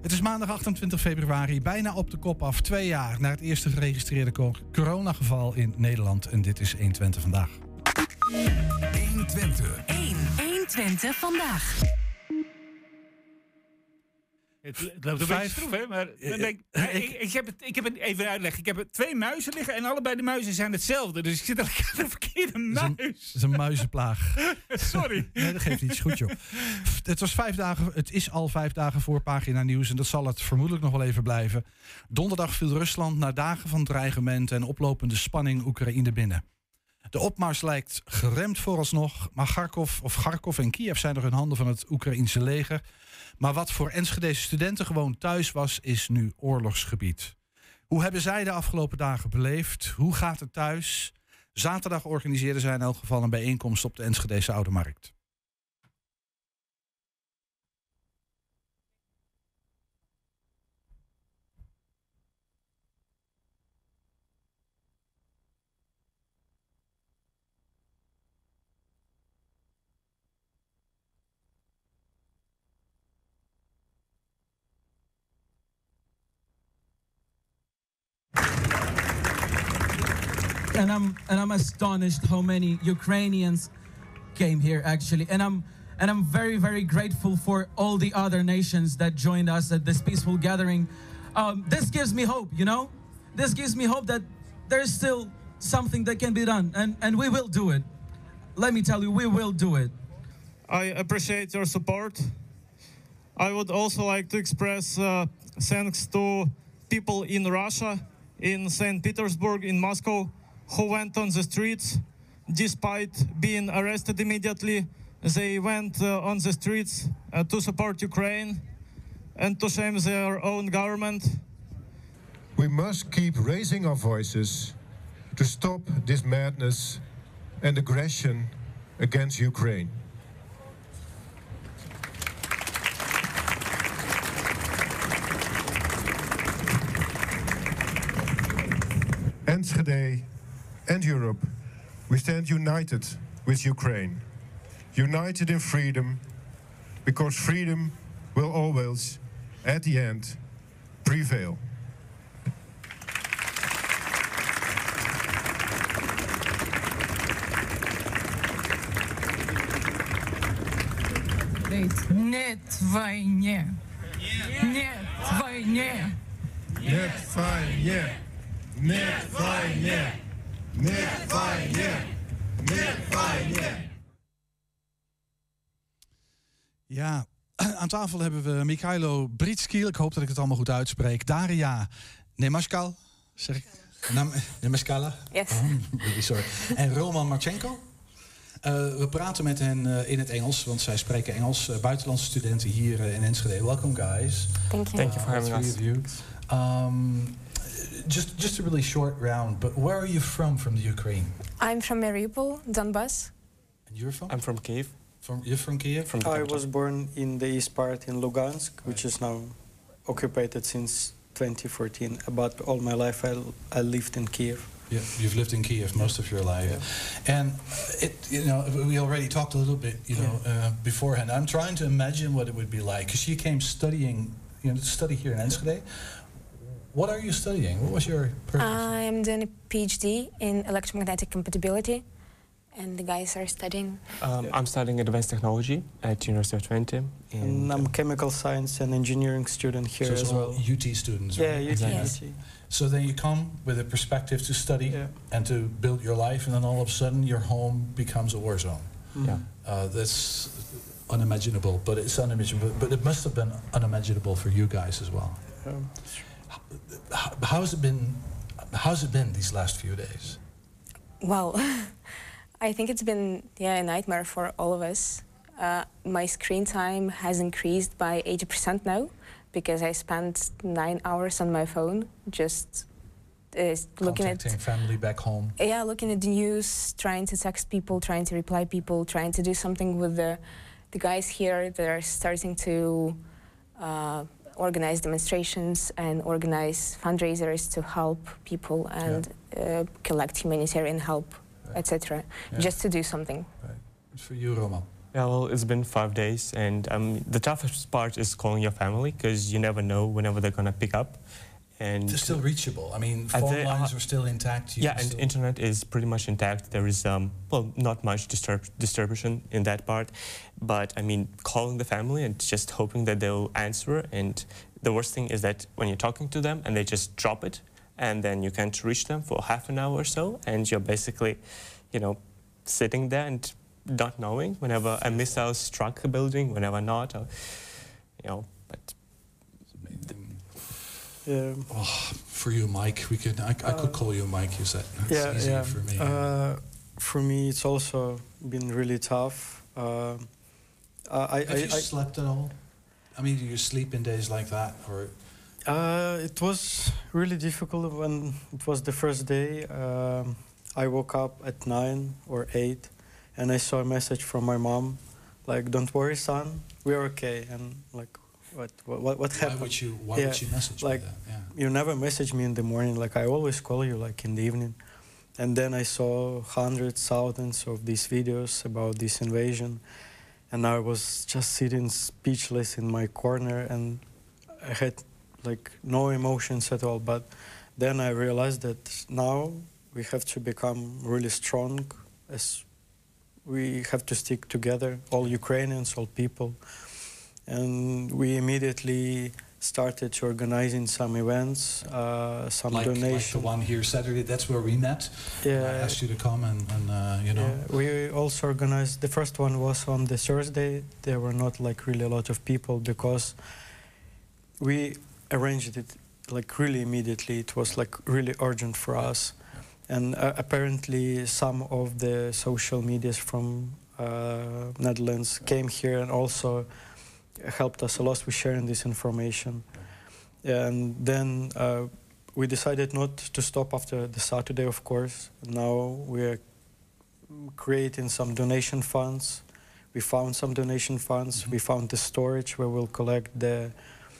Het is maandag 28 februari, bijna op de kop af. 2 jaar na het eerste geregistreerde coronageval in Nederland. En dit is 120 vandaag. 120. 120 vandaag. Het loopt een beetje stroef, hè? Maar dan denk ik heb het even uitleg. Ik heb 2 muizen liggen en allebei de muizen zijn hetzelfde. Dus ik zit eigenlijk aan de verkeerde muis. Het is een muizenplaag. Sorry. Nee, dat geeft niet. Is goed, joh. Het is al 5 dagen voor Pagina Nieuws en dat zal het vermoedelijk nog wel even blijven. Donderdag viel Rusland na dagen van dreigementen en oplopende spanning Oekraïne binnen. De opmars lijkt geremd vooralsnog, maar Kharkov en Kiev zijn nog in handen van het Oekraïense leger. Maar wat voor Enschedese studenten gewoon thuis was, is nu oorlogsgebied. Hoe hebben zij de afgelopen dagen beleefd? Hoe gaat het thuis? Zaterdag organiseerden zij in elk geval een bijeenkomst op de Enschedese Oude Markt. And I'm astonished how many Ukrainians came here actually, and I'm very, very grateful for all the other nations that joined us at this peaceful gathering. This gives me hope, you know. This gives me hope that there's still something that can be done, and we will do it. Let me tell you, we will do it. I appreciate your support. I would also like to express thanks to people in Russia, in St. Petersburg, in Moscow, who went on the streets despite being arrested immediately. They went on the streets to support Ukraine and to shame their own government. We must keep raising our voices to stop this madness and aggression against Ukraine. Enschede and Europe, we stand united with Ukraine. United in freedom, because freedom will always, at the end, prevail. Нет войне. Нет войне. Нет войне. Нет войне. Нет войне. Нет войне. Ja, aan tafel hebben we Mikhailo Britskil. Ik hoop dat ik het allemaal goed uitspreek. Daria Nemaskal. Zeg ik? Nemaskala? Yes. Really sorry. En Roman Marchenko. We praten met hen in het Engels, want zij spreken Engels. Buitenlandse studenten hier in Enschede. Welcome, guys. Thank you. Thank you for having us. Just a really short round, but where are you from the Ukraine? I'm from Mariupol, Donbass. And you're from? I'm from Kiev. You're from Kiev? From the I capital. was born in the east part in Lugansk, which is now occupied since 2014. But all my life I lived in Kiev. Yeah, you've lived in Kiev most of your life. Yeah. And we already talked a little bit, beforehand. I'm trying to imagine what it would be like, because you came studying, to study here in Enschede. What are you studying? What was your purpose? I'm doing a PhD in electromagnetic compatibility, and the guys are studying. I'm studying advanced technology at University of Twente. And I'm chemical science and engineering student here so as well. UT students, Yeah, right? UT. Exactly. Yes. So then you come with a perspective to study and to build your life, and then all of a sudden your home becomes a war zone. Yeah. That's unimaginable, but it's unimaginable. But it must have been unimaginable for you guys as well. How's it been these last few days? Well, I think it's been a nightmare for all of us. My screen time has increased by 80% now, because I spent 9 hours on my phone just looking at family back home. Yeah, looking at the news, trying to text people, trying to reply people, trying to do something with the guys here that are starting to organize demonstrations and organize fundraisers to help people and collect humanitarian help, etc. Just to do something. Right. For you, Roman. Yeah, well, it's been 5 days, and the toughest part is calling your family, because you never know whenever they're going to pick up. And they're still reachable. I mean, phone lines are still intact. Yeah, and internet is pretty much intact. There is, well, not much disturbance in that part. But, I mean, calling the family and just hoping that they'll answer. And the worst thing is that when you're talking to them and they just drop it, and then you can't reach them for half an hour or so, and you're basically, you know, sitting there and not knowing whenever a missile struck a building, whenever not, or, you know, but... Yeah. Oh, for you, Mike, I could call you Mike. You said it's easier for me. For me, it's also been really tough. Have you slept at all? I mean, do you sleep in days like that, or? It was really difficult when it was the first day. I woke up at 9 or 8, and I saw a message from my mom, like, "Don't worry, son, we're okay." And like, what happened? Why would she message like, me that? Yeah. You never message me in the morning. Like, I always call you like in the evening. And then I saw hundreds, thousands of these videos about this invasion, and I was just sitting speechless in my corner, and I had like no emotions at all. But then I realized that now we have to become really strong, as we have to stick together, all Ukrainians, all people. And we immediately started organizing some events, some donations. Like the one here Saturday, that's where we met. Yeah. I asked you to come and you know. Yeah, we also organized, the first one was on the Thursday. There were not like really a lot of people because we arranged it like really immediately. It was like really urgent for us. And apparently some of the social medias from Netherlands came here and also helped us a lot with sharing this information. And then we decided not to stop after the Saturday, of course. Now we're creating some donation funds. We found some donation funds. We found the storage where we'll collect the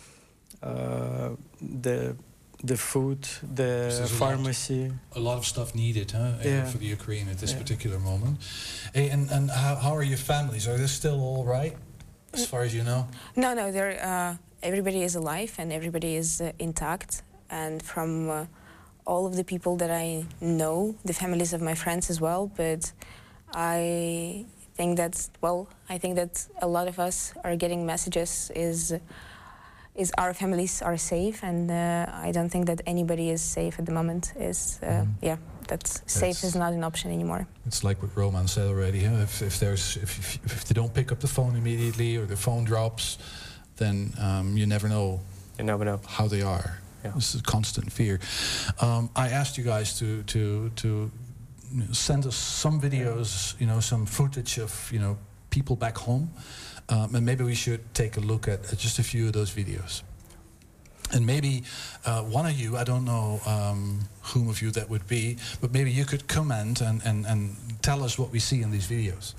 food, the pharmacy. A lot of stuff needed, huh? Yeah. For the Ukraine at this particular moment. Hey, and how are your families? Are they still all right, as far as you know? No, they're, everybody is alive and everybody is intact. And from all of the people that I know, the families of my friends as well, but I think that, well, I think that a lot of us are getting messages is our families are safe, and I don't think that anybody is safe at the moment. Yeah, that's safe is not an option anymore. It's like what Roman said already. Huh? If they don't pick up the phone immediately or the phone drops, then you never know. You never know how they are. Yeah. This is a constant fear. I asked you guys to send us some videos, you know, some footage of, you know, people back home. And maybe we should take a look at just a few of those videos. And maybe one of you, I don't know whom of you that would be, but maybe you could comment and tell us what we see in these videos.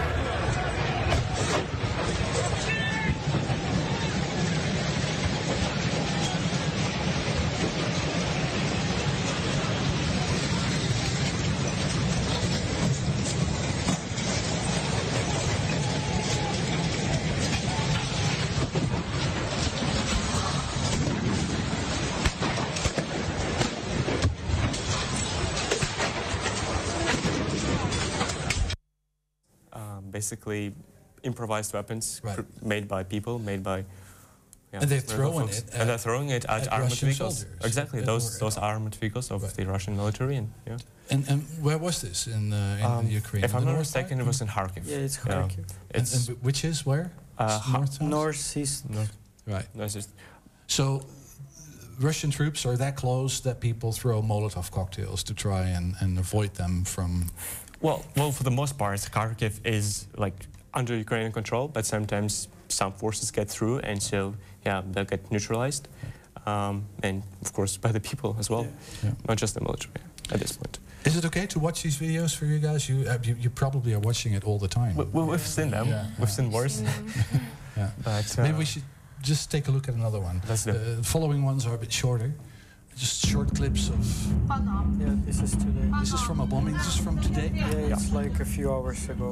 Basically improvised weapons made by people, made by... Yeah, and they're throwing it. And they're throwing it at armored Russian vehicles. soldiers. Exactly, those armored vehicles of the Russian military. And And where was this in Ukraine? If I'm not mistaken, it was in Kharkiv. Yeah, it's Kharkiv. And which is where? Northeast. Right. Northeast. So Russian troops are that close that people throw Molotov cocktails to try and avoid them from... Well, for the most part, Kharkiv is like under Ukrainian control, but sometimes some forces get through, and so yeah, they'll get neutralized, and of course by the people as well, not just the military at this point. Is it okay to watch these videos for you guys? You probably are watching it all the time. We've seen them. We've seen worse. Yeah. But, maybe we should just take a look at another one. The following ones are a bit shorter. Just short clips of... Yeah, this is today. This is from a bombing. This is from today? Yeah, it's like a few hours ago.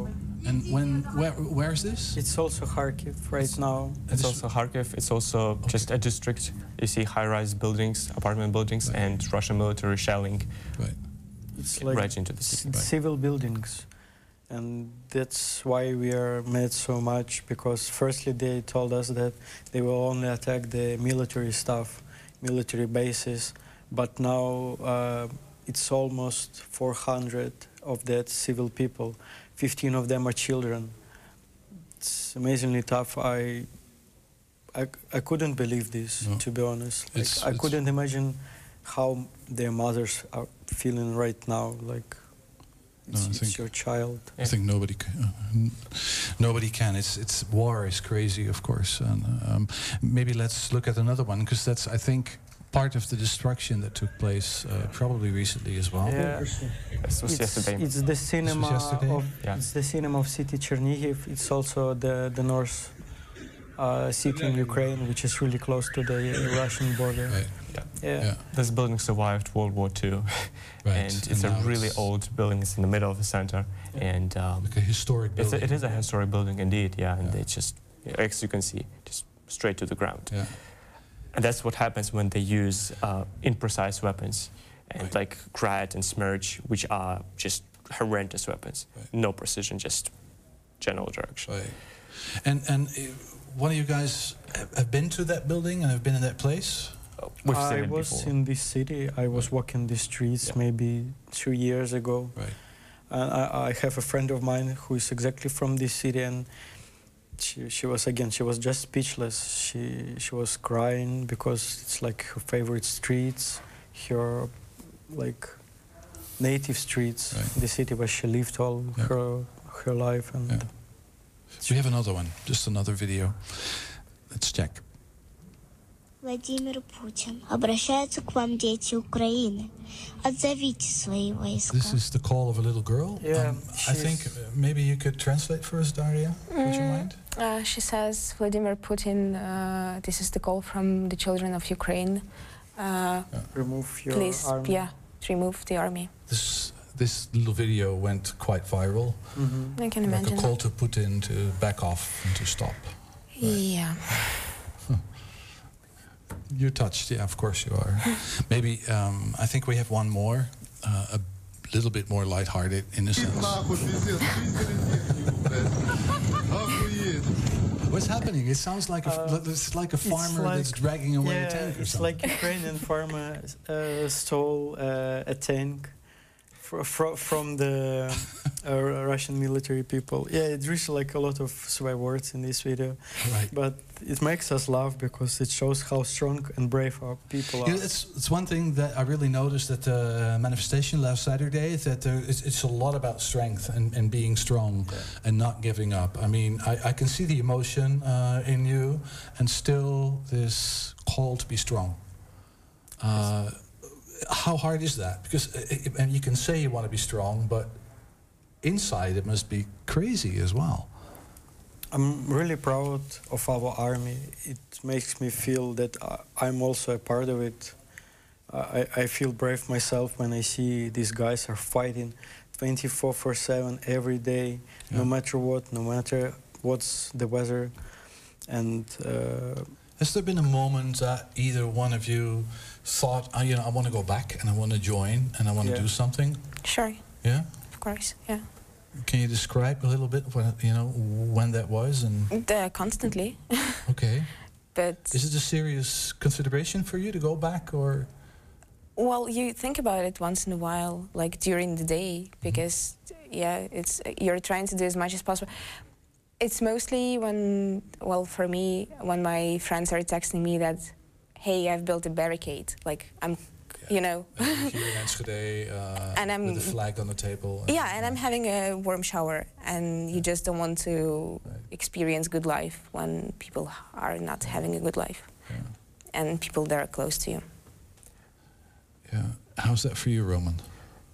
And where is this? It's also Kharkiv right now. It's also Kharkiv. It's also just a district. You see high-rise buildings, apartment buildings, and Russian military shelling It's like right into the city. civil buildings. And that's why we are mad so much, because firstly they told us that they will only attack the military stuff, military bases, but now it's almost 400 of that civil people. 15 of them are children. It's amazingly tough. I couldn't believe this, to be honest. Like, I couldn't imagine how their mothers are feeling right now. Like, it's your child. I think nobody can. It's war is crazy, of course. And maybe let's look at another one, because that's, I think, part of the destruction that took place probably recently as well. Yeah, this was yesterday. It's the cinema of Yeah. it's the cinema of city Chernihiv. It's also the north city in Ukraine, which is really close to the Russian border. Right. Yeah. This building survived World War II, and it's a really old building. It's in the middle of the center, and like a historic building. It is a historic building indeed. Yeah, and it's just, as you can see, just straight to the ground. Yeah. And that's what happens when they use imprecise weapons, and like Grad and Smerch, which are just horrendous weapons. No precision, just general direction. Right. And one of you guys have been to that building and have been in that place? We've seen I it was before. in this city. I was walking the streets maybe 2 years ago. Right. And I have a friend of mine who is exactly from this city, and she was just speechless. She was crying because it's like her favorite streets, her like native streets, the city where she lived all her life. And We have another one, just another video. Let's check. Владимир Путин. Обращаются к вам дети Украины. Отзовите свои войска. This is the call of a little girl. Yeah, I think maybe you could translate for us, Daria. Would you mind? She says, Vladimir Putin, this is the call from the children of Ukraine. Remove your please, army. remove the army. This little video went quite viral. I can like imagine. a call to Putin to back off and to stop. Yeah. You're touched, yeah, of course you are. Maybe, I think we have one more, a little bit more lighthearted in a sense. What's happening? It sounds like it's like a farmer that's dragging away a tank or it's something. like Ukrainian farmer stole a tank from the Russian military people. Yeah, it reached like a lot of swear words in this video. Right. But it makes us laugh because it shows how strong and brave our people are. Yeah, it's one thing that I really noticed at the manifestation last Saturday, is that it's a lot about strength and being strong and not giving up. I mean, I can see the emotion in you, and still this call to be strong. How hard is that? Because and you can say you want to be strong, but inside it must be crazy as well. I'm really proud of our army. It makes me feel that I'm also a part of it. I feel brave myself when I see these guys are fighting 24/7 every day, no matter what, no matter what's the weather. And has there been a moment that either one of you thought, I want to go back and I want to join and I want to do something? Sure. Yeah? Of course, yeah. Can you describe a little bit when that was? And constantly. Okay. But is it a serious consideration for you to go back, or? Well, you think about it once in a while, like during the day, because you're trying to do as much as possible. It's mostly for me, when my friends are texting me that, hey, I've built a barricade, like I'm, Here in Enschede, and I'm, with a flag on the table. And I'm having a warm shower, and you just don't want to experience good life when people are not having a good life, and people that are close to you. Yeah. How's that for you, Roman?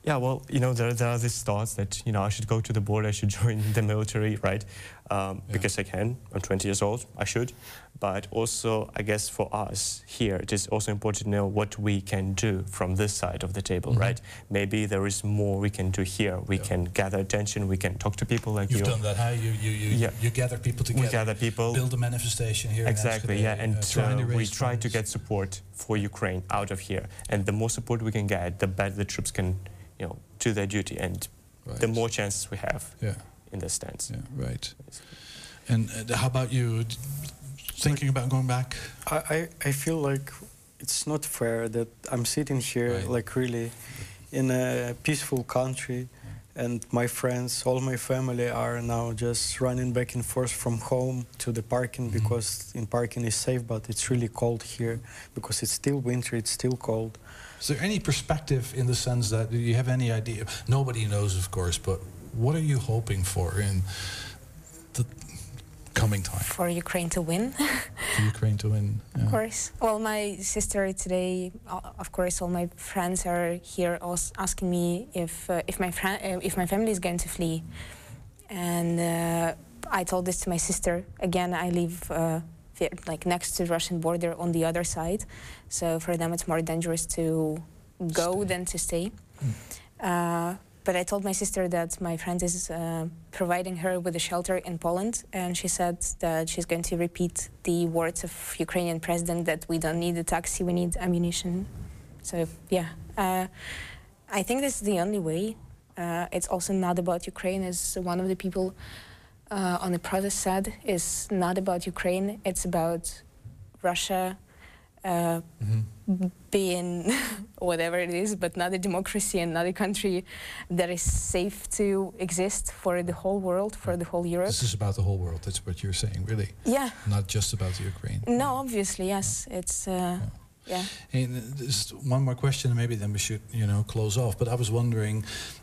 Yeah, well, you know, there are these thoughts that, you know, I should go to the border, I should join the military, right? Because I can. I'm 20 years old, I should. But also, I guess for us here, it is also important to know what we can do from this side of the table, right? Maybe there is more we can do here. We can gather attention, we can talk to people like you. You've done that, huh? You gather people together. We gather people. Build a manifestation here. Exactly, in Enschede, and we try to get support for Ukraine out of here. And the more support we can get, the better the troops can, you know, do their duty, and the more chances we have in this stance. Yeah, right. And how about you? Thinking about going back? I feel like it's not fair that I'm sitting here, like really, in a peaceful country, and my friends, all my family are now just running back and forth from home to the parking because in parking is safe, but it's really cold here because it's still winter, it's still cold. Is there any perspective in the sense that, do you have any idea? Nobody knows, of course, but what are you hoping for in the coming time? For Ukraine to win. For Ukraine to win, yeah. Of course. Well, my sister today, of course, all my friends are here asking me if my family is going to flee. And I told this to my sister. Again, I live like next to the Russian border on the other side. So for them it's more dangerous to go than to stay. But I told my sister that my friend is providing her with a shelter in Poland, and she said that she's going to repeat the words of Ukrainian president that we don't need a taxi, we need ammunition. So yeah, I think this is the only way. It's also not about Ukraine, as one of the people on the protest said, it's not about Ukraine, it's about Russia being whatever it is, but not a democracy and not a country that is safe to exist for the whole world, for the whole Europe. This is about the whole world, that's what you're saying, really? Yeah. Not just about the Ukraine. No, obviously, yes. It's, yeah. And there's one more question, and maybe then we should, you know, close off. But I was wondering,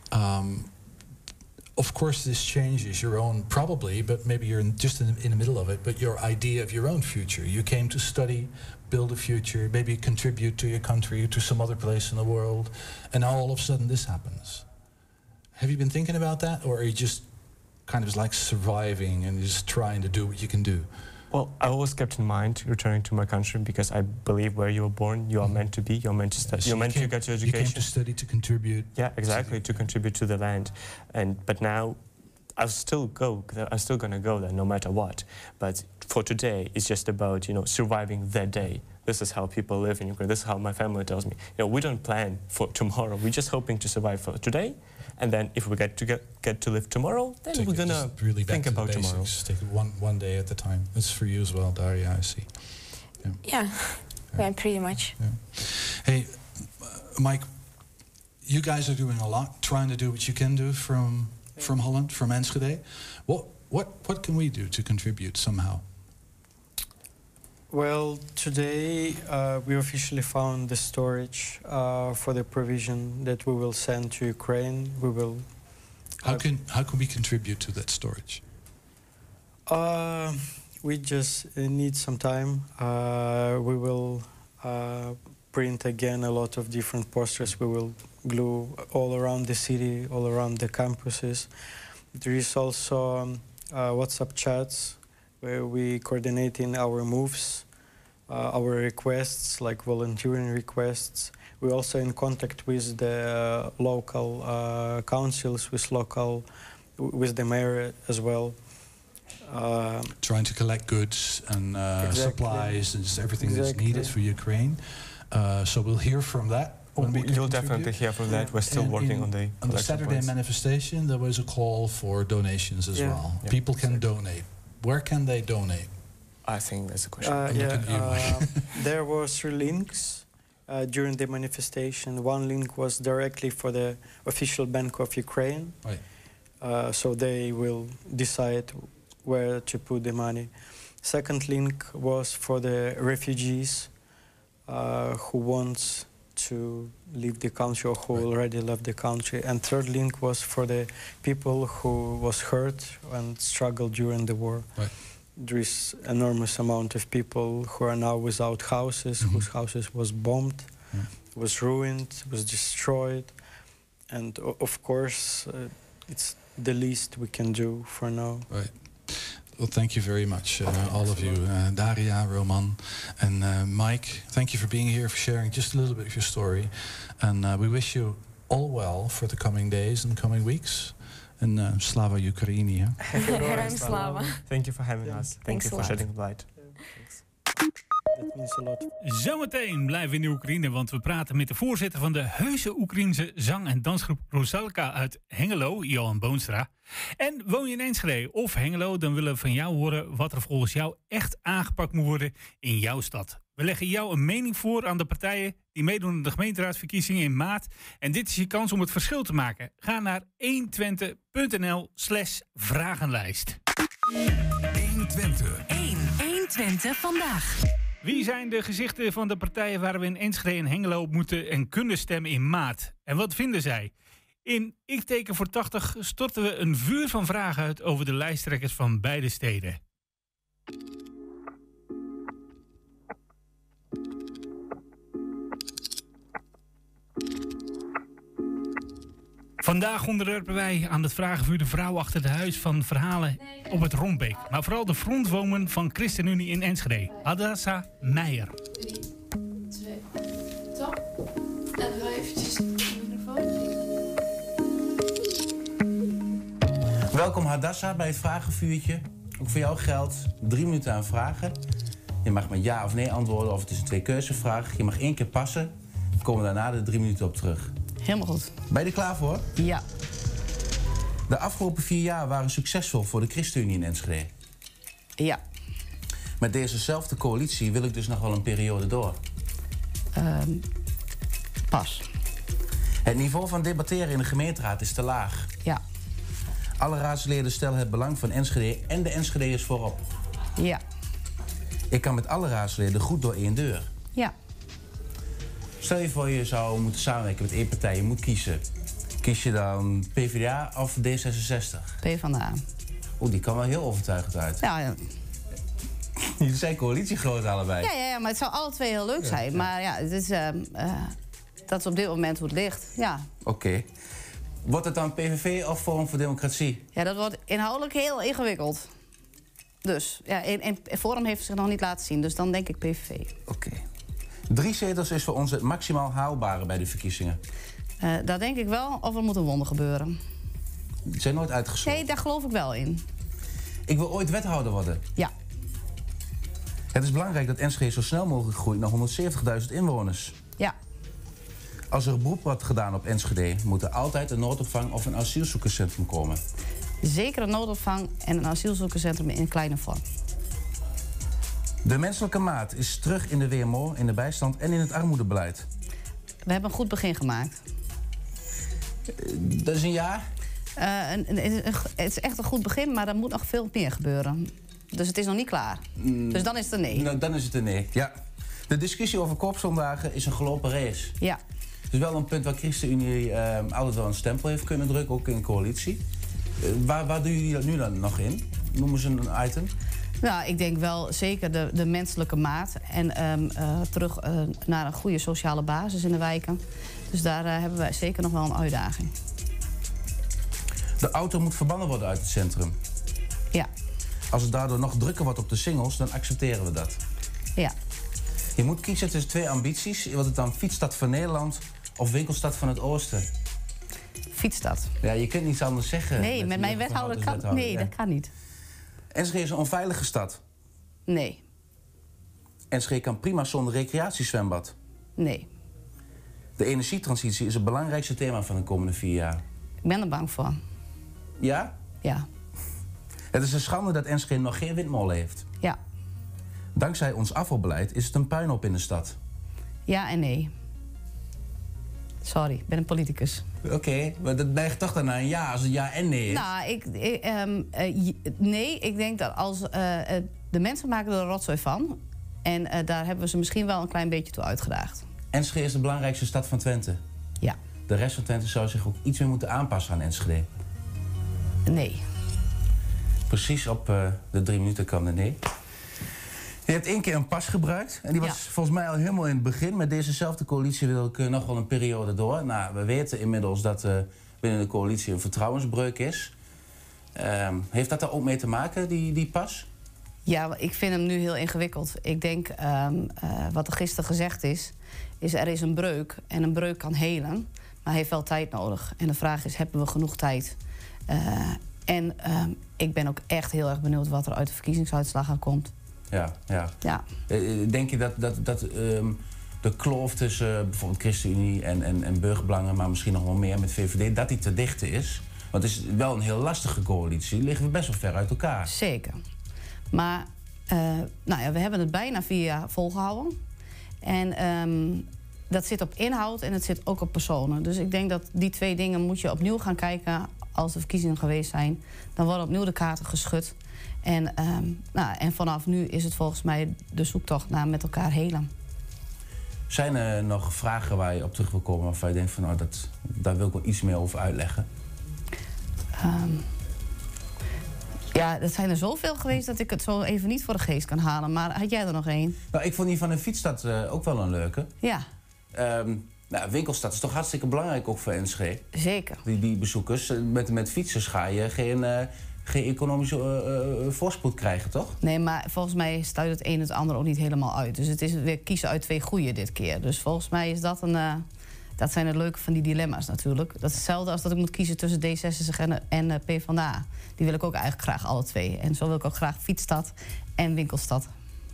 of course, this changes your own, probably, but maybe you're just in the middle of it, but your idea of your own future. You came to study, build a future, maybe contribute to your country, to some other place in the world, and now all of a sudden this happens. Have you been thinking about that, or are you just kind of like surviving and just trying to do what you can do? Well, I always kept in mind returning to my country because I believe where you were born, you are meant to be, you're meant to study, you're meant to get your education. You came to study, to contribute. Yeah, exactly, to contribute to the land. But now, I'm still gonna go there no matter what. But for today, it's just about, you know, surviving that day. This is how people live in Ukraine. This is how my family tells me. You know, we don't plan for tomorrow. We're just hoping to survive for today. And then if we get to live tomorrow, then we're gonna really think about tomorrow. Take it one day at a time. That's for you as well, Daria, I see. Yeah, pretty much. Yeah. Hey, Mike, you guys are doing a lot, trying to do what you can do from Holland, from Enschede. What can we do to contribute somehow? Well, today we officially found the storage for the provision that we will send to Ukraine. We will. How can we contribute to that storage? We just need some time. We will print again a lot of different posters. We will glue all around the city, all around the campuses. There is also WhatsApp chats where we coordinating our moves, our requests, like volunteering requests. We're also in contact with the local councils, with the mayor as well. Trying to collect goods and supplies and just everything that's needed for Ukraine. So we'll hear from that. You'll definitely hear from that. We're still working on the Saturday manifestation. There was a call for donations as well. Yeah, people can donate. Where can they donate? I think that's a question. There were 3 links during the manifestation. One link was directly for the official Bank of Ukraine. Right. So they will decide where to put the money. Second link was for the refugees who wants to leave the country or who already left the country. And third link was for the people who was hurt and struggled during the war. Right. There is enormous amount of people who are now without houses, whose houses was bombed, was ruined, was destroyed. and of course, it's the least we can do for now. Right. Well, thank you very much, all of you, Daria, Roman, and Mike. Thank you for being here, for sharing just a little bit of your story, and we wish you all well for the coming days and coming weeks. And Slava Ukraini. Heroям слава. Thank you for having us. Thank you for shedding light. That means a lot. Zometeen blijven we in de Oekraïne, want we praten met de voorzitter van de heuse Oekraïense zang- en dansgroep Rosalka uit Hengelo, Johan Boonstra. En woon je in Enschede of Hengelo, dan willen we van jou horen wat er volgens jou echt aangepakt moet worden in jouw stad. We leggen jou een mening voor aan de partijen die meedoen aan de gemeenteraadsverkiezingen in maart. En dit is je kans om het verschil te maken. Ga naar 120.nl/vragenlijst. 120. 120 vandaag. Wie zijn de gezichten van de partijen waar we in Enschede en Hengelo op moeten en kunnen stemmen in maart? En wat vinden zij? In Ik teken voor 80 storten we een vuur van vragen uit over de lijsttrekkers van beide steden. Vandaag onderwerpen wij aan het vragenvuur de vrouw achter de huis van verhalen op het Rombeek. Maar vooral de frontwoman van ChristenUnie in Enschede, Hadassa Meijer. 3, 2, top. En dan eventjes de microfoon. Welkom Hadassa bij het vragenvuurtje. Ook voor jou geldt 3 minuten aan vragen. Je mag met ja of nee antwoorden of het is een 2-keuzevraag. Je mag 1 keer passen. Dan komen we daarna de 3 minuten op terug. Helemaal goed. Ben je er klaar voor? Ja. De afgelopen 4 jaar waren succesvol voor de ChristenUnie in Enschede. Ja. Met dezezelfde coalitie wil ik dus nog wel een periode door. Pas. Het niveau van debatteren in de gemeenteraad is te laag. Ja. Alle raadsleden stellen het belang van Enschede en de Enschedeërs voorop. Ja. Ik kan met alle raadsleden goed door 1 deur. Ja. Stel je voor je zou moeten samenwerken met 1 partij, je moet kiezen. Kies je dan PvdA of D66? PvdA. Oeh, die kan wel heel overtuigend uit. Ja. Jullie zijn coalitiegroot allebei. Ja, maar het zou alle 2 heel leuk zijn. Ja. Maar ja, het is, dat is op dit moment hoe het ligt. Ja. Oké. Wordt het dan PVV of Forum voor Democratie? Ja, dat wordt inhoudelijk heel ingewikkeld. Dus, ja, en Forum heeft zich nog niet laten zien, dus dan denk ik PVV. Oké. 3 zetels is voor ons het maximaal haalbare bij de verkiezingen. Dat denk ik wel, of er moet een wonder gebeuren. Die zijn nooit uitgesloten. Nee, daar geloof ik wel in. Ik wil ooit wethouder worden. Ja. Het is belangrijk dat Enschede zo snel mogelijk groeit naar 170.000 inwoners. Ja. Als er een beroep wordt gedaan op Enschede, moet er altijd een noodopvang of een asielzoekerscentrum komen. Zeker een noodopvang en een asielzoekerscentrum in een kleine vorm. De menselijke maat is terug in de WMO, in de bijstand en in het armoedebeleid. We hebben een goed begin gemaakt. Dat is een ja? Het is echt een goed begin, maar er moet nog veel meer gebeuren. Dus het is nog niet klaar. Dus dan is het een nee. Nou, dan is het een nee, ja. De discussie over koopzondagen is een gelopen race. Ja. Het is wel een punt waar ChristenUnie altijd wel een stempel heeft kunnen drukken, ook in coalitie. Waar doen jullie dat nu dan nog in? Noemen ze een item? Nou, ik denk wel zeker de menselijke maat. En terug naar een goede sociale basis in de wijken. Dus daar hebben wij zeker nog wel een uitdaging. De auto moet verbannen worden uit het centrum. Ja. Als het daardoor nog drukker wordt op de singles, dan accepteren we dat. Ja. Je moet kiezen tussen 2 ambities. Wordt het dan fietsstad van Nederland of winkelstad van het Oosten? Fietsstad. Ja, je kunt niets anders zeggen. Nee, met mijn wethouder kan... Nee, ja. Dat kan niet. Enschede is een onveilige stad. Nee. Enschede kan prima zonder recreatiezwembad. Nee. De energietransitie is het belangrijkste thema van de komende 4 jaar. Ik ben er bang voor. Ja? Ja. Het is een schande dat Enschede nog geen windmolen heeft. Ja. Dankzij ons afvalbeleid is het een puinhoop in de stad. Ja en nee. Sorry, ik ben een politicus. Oké, maar dat neigt toch dan naar een ja als het ja en nee is? Nou, nee, ik denk dat als de mensen maken er een rotzooi van. En daar hebben we ze misschien wel een klein beetje toe uitgedaagd. Enschede is de belangrijkste stad van Twente. Ja. De rest van Twente zou zich ook iets meer moeten aanpassen aan Enschede. Nee. Precies op de 3 minuten kwam de nee. Je hebt 1 keer een pas gebruikt. En die was volgens mij al helemaal in het begin. Met dezezelfde coalitie wil ik nog wel een periode door. Nou, we weten inmiddels dat binnen de coalitie een vertrouwensbreuk is. Heeft dat er ook mee te maken, die pas? Ja, ik vind hem nu heel ingewikkeld. Ik denk, wat er gisteren gezegd is er is een breuk. En een breuk kan helen, maar heeft wel tijd nodig. En de vraag is, hebben we genoeg tijd? Ik ben ook echt heel erg benieuwd wat er uit de verkiezingsuitslagen komt. Ja. Denk je dat de kloof tussen bijvoorbeeld ChristenUnie en Burgerbelangen, maar misschien nog wel meer met VVD, dat die te dichten is? Want het is wel een heel lastige coalitie. Liggen we best wel ver uit elkaar. Zeker. Maar we hebben het bijna 4 jaar volgehouden. En dat zit op inhoud en het zit ook op personen. Dus ik denk dat die 2 dingen moet je opnieuw gaan kijken als de verkiezingen geweest zijn. Dan worden opnieuw de kaarten geschud. En vanaf nu is het volgens mij de zoektocht naar met elkaar helen. Zijn er nog vragen waar je op terug wil komen waarvan je denkt van daar wil ik wel iets meer over uitleggen? Er zijn er zoveel geweest dat ik het zo even niet voor de geest kan halen. Maar had jij er nog één? Nou, ik vond die van de Fietsstad ook wel een leuke. Ja. Winkelstad is toch hartstikke belangrijk ook voor Enschede? Zeker. Die bezoekers. Met fietsers ga je geen economische voorspoed krijgen, toch? Nee, maar volgens mij stuit het een het ander ook niet helemaal uit. Dus het is weer kiezen uit 2 goeie dit keer. Dus volgens mij is dat dat zijn het leuke van die dilemma's natuurlijk. Dat is hetzelfde als dat ik moet kiezen tussen D66 en PvdA. Die wil ik ook eigenlijk graag alle 2. En zo wil ik ook graag Fietsstad en Winkelstad.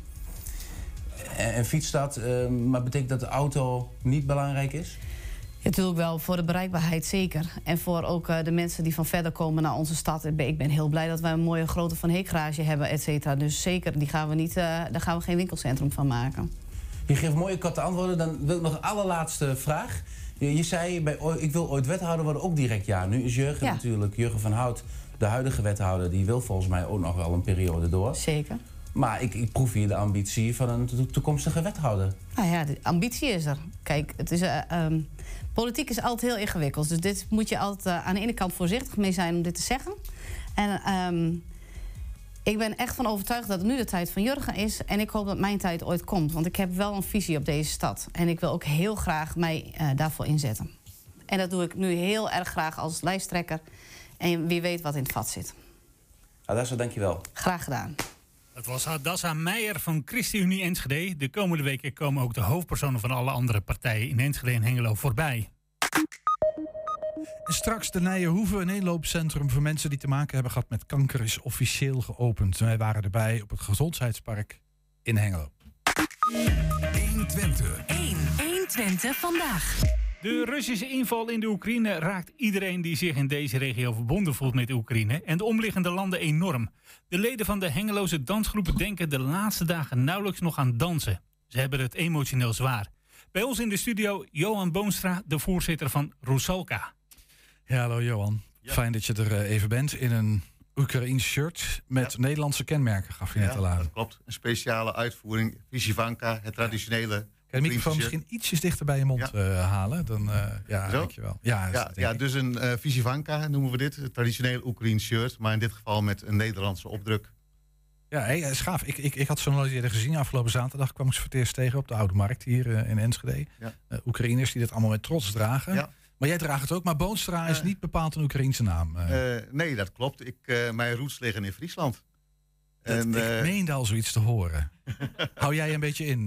En Fietsstad, maar betekent dat de auto niet belangrijk is? Ja, natuurlijk wel, voor de bereikbaarheid zeker. En voor ook de mensen die van verder komen naar onze stad. Ik ben heel blij dat wij een mooie grote Van Heek-garage hebben, et cetera. Dus zeker, daar gaan we geen winkelcentrum van maken. Je geeft mooie korte antwoorden. Dan wil ik nog een allerlaatste vraag. Je zei, ik wil ooit wethouder worden, ook direct ja. Nu is Jurgen natuurlijk, Jurgen van Hout, de huidige wethouder, die wil volgens mij ook nog wel een periode door. Zeker. Maar ik proef hier de ambitie van een toekomstige wethouder. Nou ja, de ambitie is er. Kijk, het is, politiek is altijd heel ingewikkeld. Dus dit moet je altijd aan de ene kant voorzichtig mee zijn om dit te zeggen. En ik ben echt van overtuigd dat het nu de tijd van Jurgen is. En ik hoop dat mijn tijd ooit komt. Want ik heb wel een visie op deze stad. En ik wil ook heel graag mij daarvoor inzetten. En dat doe ik nu heel erg graag als lijsttrekker. En wie weet wat in het vat zit. Hadassa, dankjewel. Graag gedaan. Dat was Hadassa Meijer van ChristenUnie Enschede. De komende weken komen ook de hoofdpersonen van alle andere partijen in Enschede en Hengelo voorbij. En straks de Nijenhoeve, een inloopcentrum voor mensen die te maken hebben gehad met kanker, is officieel geopend. Wij waren erbij op het Gezondheidspark in Hengelo. 120. 120 vandaag. De Russische inval in de Oekraïne raakt iedereen die zich in deze regio verbonden voelt met de Oekraïne en de omliggende landen enorm. De leden van de Hengeloze dansgroepen denken de laatste dagen nauwelijks nog aan dansen. Ze hebben het emotioneel zwaar. Bij ons in de studio Johan Boonstra, de voorzitter van Rusalka. Ja, hallo Johan. Ja. Fijn dat je er even bent in een Oekraïens shirt met Nederlandse kenmerken, gaf je net al aan. Dat klopt. Een speciale uitvoering, Vyzhyvanka, het traditionele. Kan je de microfoon misschien ietsjes dichter bij je mond halen? Dan, dankjewel. Dus een Vyzhyvanka noemen we dit. Het traditionele Oekraïens shirt, maar in dit geval met een Nederlandse opdruk. Ja, is gaaf. Ik had ze nog nooit eerder gezien. Afgelopen zaterdag kwam ik ze voor het eerst tegen op de Oude Markt hier in Enschede. Ja. Oekraïners die dit allemaal met trots dragen. Ja. Maar jij draagt het ook, maar Boonstra is niet bepaald een Oekraïense naam. Nee, dat klopt. Mijn roots liggen in Friesland. Ik meende al zoiets te horen. Hou jij een beetje in?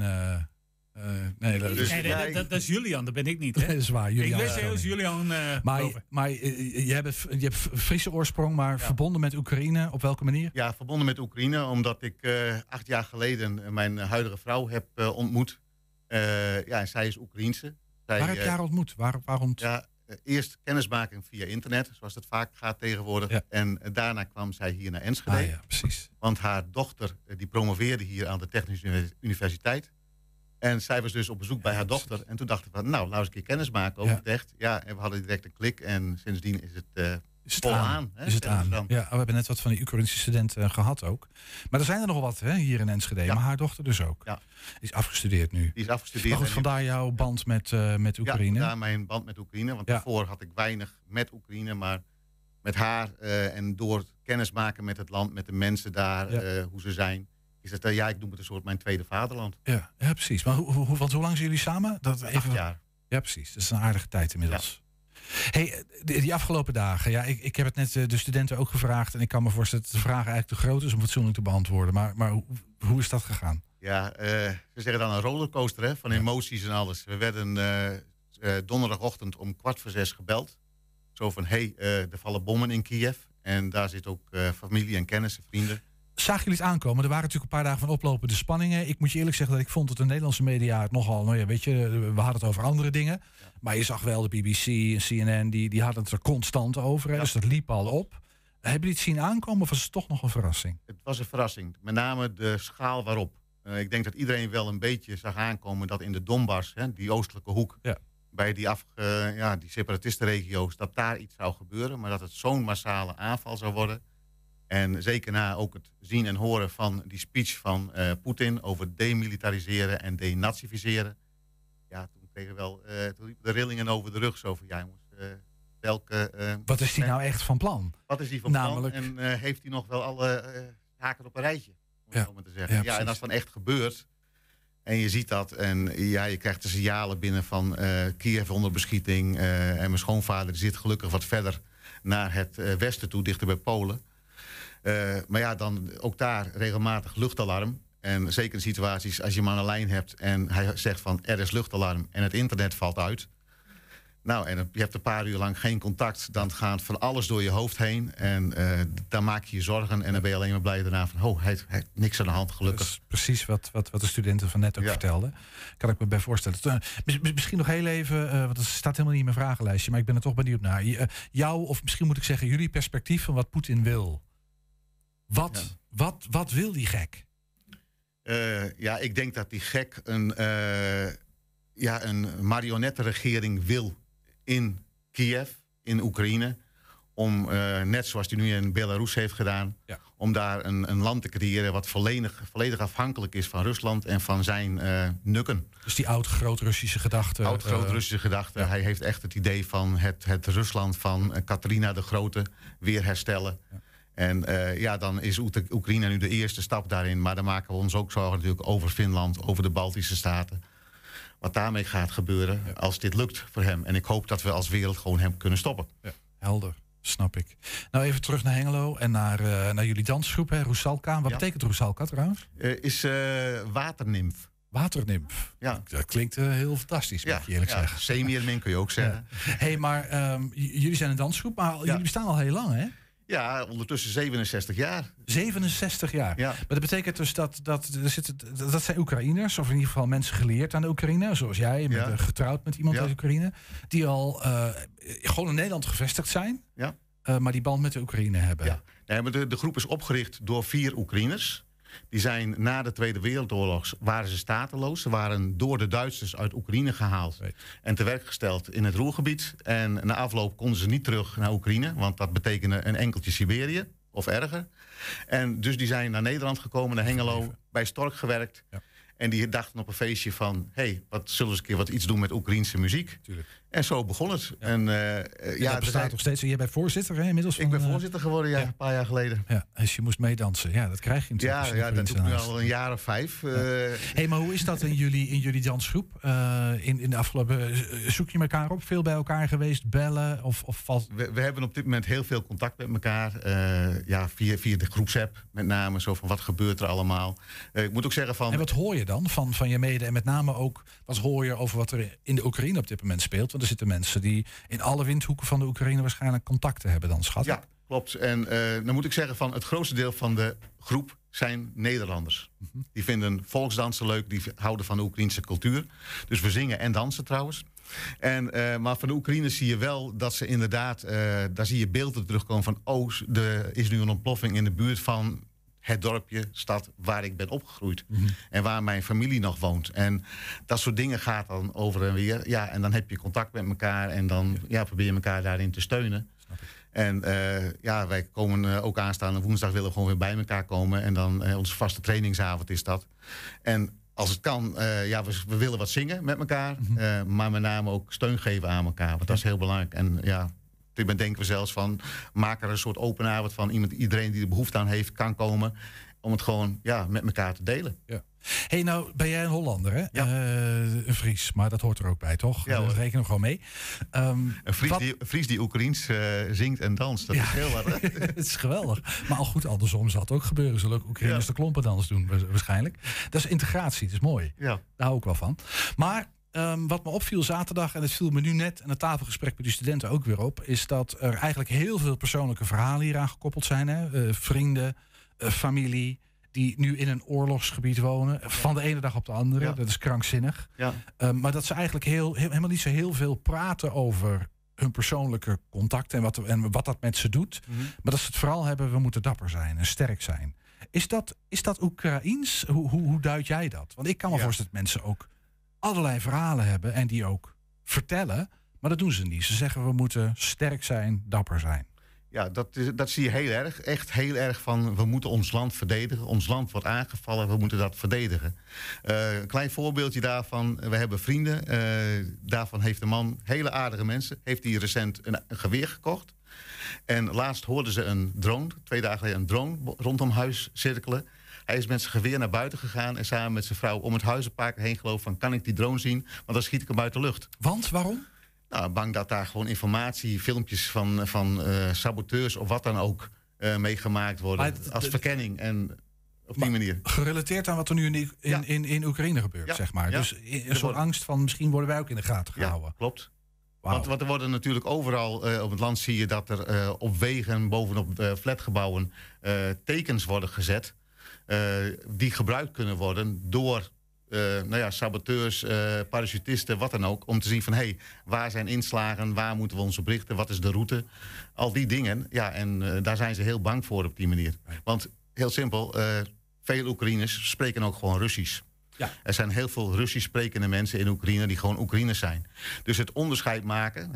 Dat is Julian, dat ben ik niet. Hè? Dat is waar, Julian. Ik wist heel Julian. Maar je hebt Friese oorsprong, maar verbonden met Oekraïne. Op welke manier? Ja, verbonden met Oekraïne, omdat ik 8 jaar geleden mijn huidige vrouw heb ontmoet. En zij is Oekraïense. Waar heb je haar ontmoet? Waarom? Ja, eerst kennismaking via internet, zoals het vaak gaat tegenwoordig. Ja. En daarna kwam zij hier naar Enschede. Ja, precies. Want haar dochter die promoveerde hier aan de Technische Universiteit. En zij was dus op bezoek bij haar dochter. En toen dachten we, nou eens een keer kennis maken over het echt. Ja, en we hadden direct een klik. En sindsdien is het vol aan. Is het aan. Ja, we hebben net wat van die Oekraïnse studenten gehad ook. Maar er zijn er nog wat hier in Enschede. Ja. Maar haar dochter dus ook. Ja. Die is afgestudeerd nu. Die is afgestudeerd. Maar goed, vandaar jouw band met Oekraïne. Ja, vandaar mijn band met Oekraïne. Want daarvoor had ik weinig met Oekraïne. Maar met haar en door kennis maken met het land, met de mensen daar, hoe ze zijn, is het, ja, ik noem het een soort mijn tweede vaderland. Ja, precies. Maar want hoe lang zijn jullie samen? 8 jaar. Ja, precies. Dat is een aardige tijd inmiddels. Ja. Hey, die afgelopen dagen, ja, ik heb het net de studenten ook gevraagd. En ik kan me voorstellen dat de vraag eigenlijk te groot is om fatsoenlijk te beantwoorden. Maar hoe is dat gegaan? Ja, ze zeggen dan een rollercoaster, hè, van emoties en alles. We werden donderdagochtend om 5:15 gebeld. Zo van, er vallen bommen in Kiev. En daar zit ook familie en kennissen, vrienden. Zagen jullie het aankomen? Er waren natuurlijk een paar dagen van oplopende spanningen. Ik moet je eerlijk zeggen dat ik vond dat de Nederlandse media het nogal... Nou ja, weet je, we hadden het over andere dingen. Ja. Maar je zag wel de BBC en CNN, die hadden het er constant over. Ja. Dus dat liep al op. Hebben jullie het zien aankomen of was het toch nog een verrassing? Het was een verrassing. Met name de schaal waarop. Ik denk dat iedereen wel een beetje zag aankomen dat in de Donbass, die oostelijke hoek... Ja. Bij die separatistenregio's, dat daar iets zou gebeuren. Maar dat het zo'n massale aanval zou worden. En zeker na ook het zien en horen van die speech van Poetin over demilitariseren en denazificeren. Ja, toen kregen we toen liepen de rillingen over de rug. Zo van, ja jongens, wat is hij nou echt van plan? Wat is hij van plan? En heeft hij nog wel alle haken op een rijtje? Om het zo maar te zeggen. Ja, en als het dan echt gebeurt... En je ziet dat en ja, je krijgt de signalen binnen van Kiev onder beschieting. En mijn schoonvader die zit gelukkig wat verder naar het westen toe, dichter bij Polen. Maar ja, dan ook daar regelmatig luchtalarm. En zeker in situaties als je hem aan de lijn hebt en hij zegt van er is luchtalarm en het internet valt uit. Nou, en je hebt een paar uur lang geen contact. Dan gaat van alles door je hoofd heen. En dan maak je je zorgen. En dan ben je alleen maar blij daarna van... hij heeft niks aan de hand, gelukkig. Dat is precies wat de studenten van net ook vertelden. Kan ik me bij voorstellen. Misschien nog heel even... want het staat helemaal niet in mijn vragenlijstje... maar ik ben er toch benieuwd naar. Jouw, of misschien moet ik zeggen... jullie perspectief van wat Poetin wil. Wat wil die gek? Ja, ik denk dat die gek een marionettenregering wil... in Kiev, in Oekraïne... om, net zoals hij nu in Belarus heeft gedaan... om daar een land te creëren... wat volledig afhankelijk is van Rusland... en van zijn nukken. Dus die oud-groot-Russische gedachte. Oud-groot-Russische gedachte. Ja. Hij heeft echt het idee van het Rusland van Catharina de Grote... weer herstellen. Ja. En dan is Oekraïne nu de eerste stap daarin. Maar dan maken we ons ook zorgen natuurlijk over Finland... over de Baltische Staten... wat daarmee gaat gebeuren als dit lukt voor hem. En ik hoop dat we als wereld gewoon hem kunnen stoppen. Ja, helder, snap ik. Nou, even terug naar Hengelo en naar jullie dansgroep, hè, Rusalka. Wat betekent Rusalka trouwens? Is waternimf. Waternimf. Ja. Dat klinkt heel fantastisch, moet je eerlijk zeggen. Semiermin kun je ook zeggen. Hey, maar jullie zijn een dansgroep, maar jullie bestaan al heel lang, hè? Ja, ondertussen 67 jaar. 67 jaar. Ja. Maar dat betekent dus dat zijn Oekraïners, of in ieder geval mensen geleerd aan de Oekraïne, zoals jij, je bent getrouwd met iemand uit Oekraïne, die al gewoon in Nederland gevestigd zijn, maar die band met de Oekraïne hebben. Ja. Nee, maar de groep is opgericht door 4 Oekraïners. Die zijn na de Tweede Wereldoorlog waren ze stateloos. Ze waren door de Duitsers uit Oekraïne gehaald en te werk gesteld in het Roergebied. En na afloop konden ze niet terug naar Oekraïne, want dat betekende een enkeltje Siberië of erger. En dus die zijn naar Nederland gekomen, naar Hengelo, bij Stork gewerkt. Ja. En die dachten op een feestje van, wat zullen we eens een keer iets doen met Oekraïense muziek? Tuurlijk. En zo begon het. Ja. En dat bestaat nog steeds. Jij bent voorzitter, hè, inmiddels? Ik ben voorzitter geworden, een paar jaar geleden. Ja, dus je moest meedansen. Ja, dat krijg je natuurlijk. Ja, dat doe ik nu al een jaar of 5. Hey, maar hoe is dat in jullie dansgroep? In de afgelopen... Zoek je elkaar op? Veel bij elkaar geweest? Bellen? Of valt... We hebben op dit moment heel veel contact met elkaar. Via de groepsapp met name. Zo van, wat gebeurt er allemaal? Ik moet ook zeggen van... En wat hoor je dan van je mede? En met name ook, wat hoor je over wat er in de Oekraïne op dit moment speelt? Want er zitten mensen die in alle windhoeken van de Oekraïne waarschijnlijk contacten hebben dan, schat. Ja, klopt. En dan moet ik zeggen van het grootste deel van de groep zijn Nederlanders. Die vinden volksdansen leuk, die houden van de Oekraïnse cultuur. Dus we zingen en dansen trouwens. Maar van de Oekraïners zie je wel dat ze inderdaad, daar zie je beelden terugkomen van, er is nu een ontploffing in de buurt van het dorpje, stad waar ik ben opgegroeid. En waar mijn familie nog woont. En dat soort dingen gaat dan over en weer. Ja, en dan heb je contact met elkaar en dan probeer je elkaar daarin te steunen. En wij komen ook aanstaande woensdag willen we gewoon weer bij elkaar komen. En dan onze vaste trainingsavond is dat. En als het kan, we willen wat zingen met elkaar. Maar met name ook steun geven aan elkaar. Want dat is heel belangrijk. En denken we zelfs van, maak er een soort open avond van. Iedereen die er behoefte aan heeft, kan komen. om het gewoon met elkaar te delen. Ja. Hey, nou ben jij een Hollander, hè? Ja. Een Fries, maar dat hoort er ook bij, toch? Ja, Dat rekenen we gewoon mee. Een Fries die Oekraïens zingt en danst, dat is heel wat. Hè? Het is geweldig. Maar al goed, andersom zal het ook gebeuren. Zullen ook Oekraïners de klompendans doen, waarschijnlijk. Dat is integratie, dat is mooi. Ja. Daar hou ik wel van. Maar wat me opviel zaterdag, en het viel me nu net aan het tafelgesprek met de studenten ook weer op, is dat er eigenlijk heel veel persoonlijke verhalen hieraan gekoppeld zijn. Hè? Vrienden, familie, die nu in een oorlogsgebied wonen. Van de ene dag op de andere. Ja. Dat is krankzinnig. Ja. Maar dat ze eigenlijk helemaal niet zo heel veel praten over hun persoonlijke contacten en wat dat met ze doet. Mm-hmm. Maar dat ze het vooral hebben, we moeten dapper zijn en sterk zijn. Is dat Oekraïens? Hoe duid jij dat? Want ik kan me voorstellen dat mensen ook allerlei verhalen hebben en die ook vertellen. Maar dat doen ze niet. Ze zeggen we moeten sterk zijn, dapper zijn. Ja, dat zie je heel erg. Echt heel erg van, we moeten ons land verdedigen. Ons land wordt aangevallen, we moeten dat verdedigen. Een klein voorbeeldje daarvan. We hebben vrienden. Daarvan heeft een man, hele aardige mensen, heeft hij recent een geweer gekocht. En laatst hoorden ze een drone, 2 dagen geleden een drone rondom huis cirkelen. Hij is met zijn geweer naar buiten gegaan en samen met zijn vrouw om het huis een paar keer heen gelopen van, kan ik die drone zien? Want dan schiet ik hem uit de lucht. Want, waarom? Nou, bang dat daar gewoon informatie, filmpjes van saboteurs of wat dan ook meegemaakt worden. Als verkenning en op die manier. Gerelateerd aan wat er nu in Oekraïne gebeurt, zeg maar. Ja. Dus een soort angst van misschien worden wij ook in de gaten gehouden. Ja, klopt. Wow. Want er worden natuurlijk overal op het land zie je dat er op wegen, bovenop flatgebouwen tekens worden gezet. Die gebruikt kunnen worden door saboteurs, parachutisten, wat dan ook. Om te zien van, waar zijn inslagen, waar moeten we ons op richten, wat is de route. Al die dingen, en daar zijn ze heel bang voor op die manier. Want, heel simpel, veel Oekraïners spreken ook gewoon Russisch. Ja. Er zijn heel veel Russisch sprekende mensen in Oekraïne die gewoon Oekraïners zijn. Dus het onderscheid maken,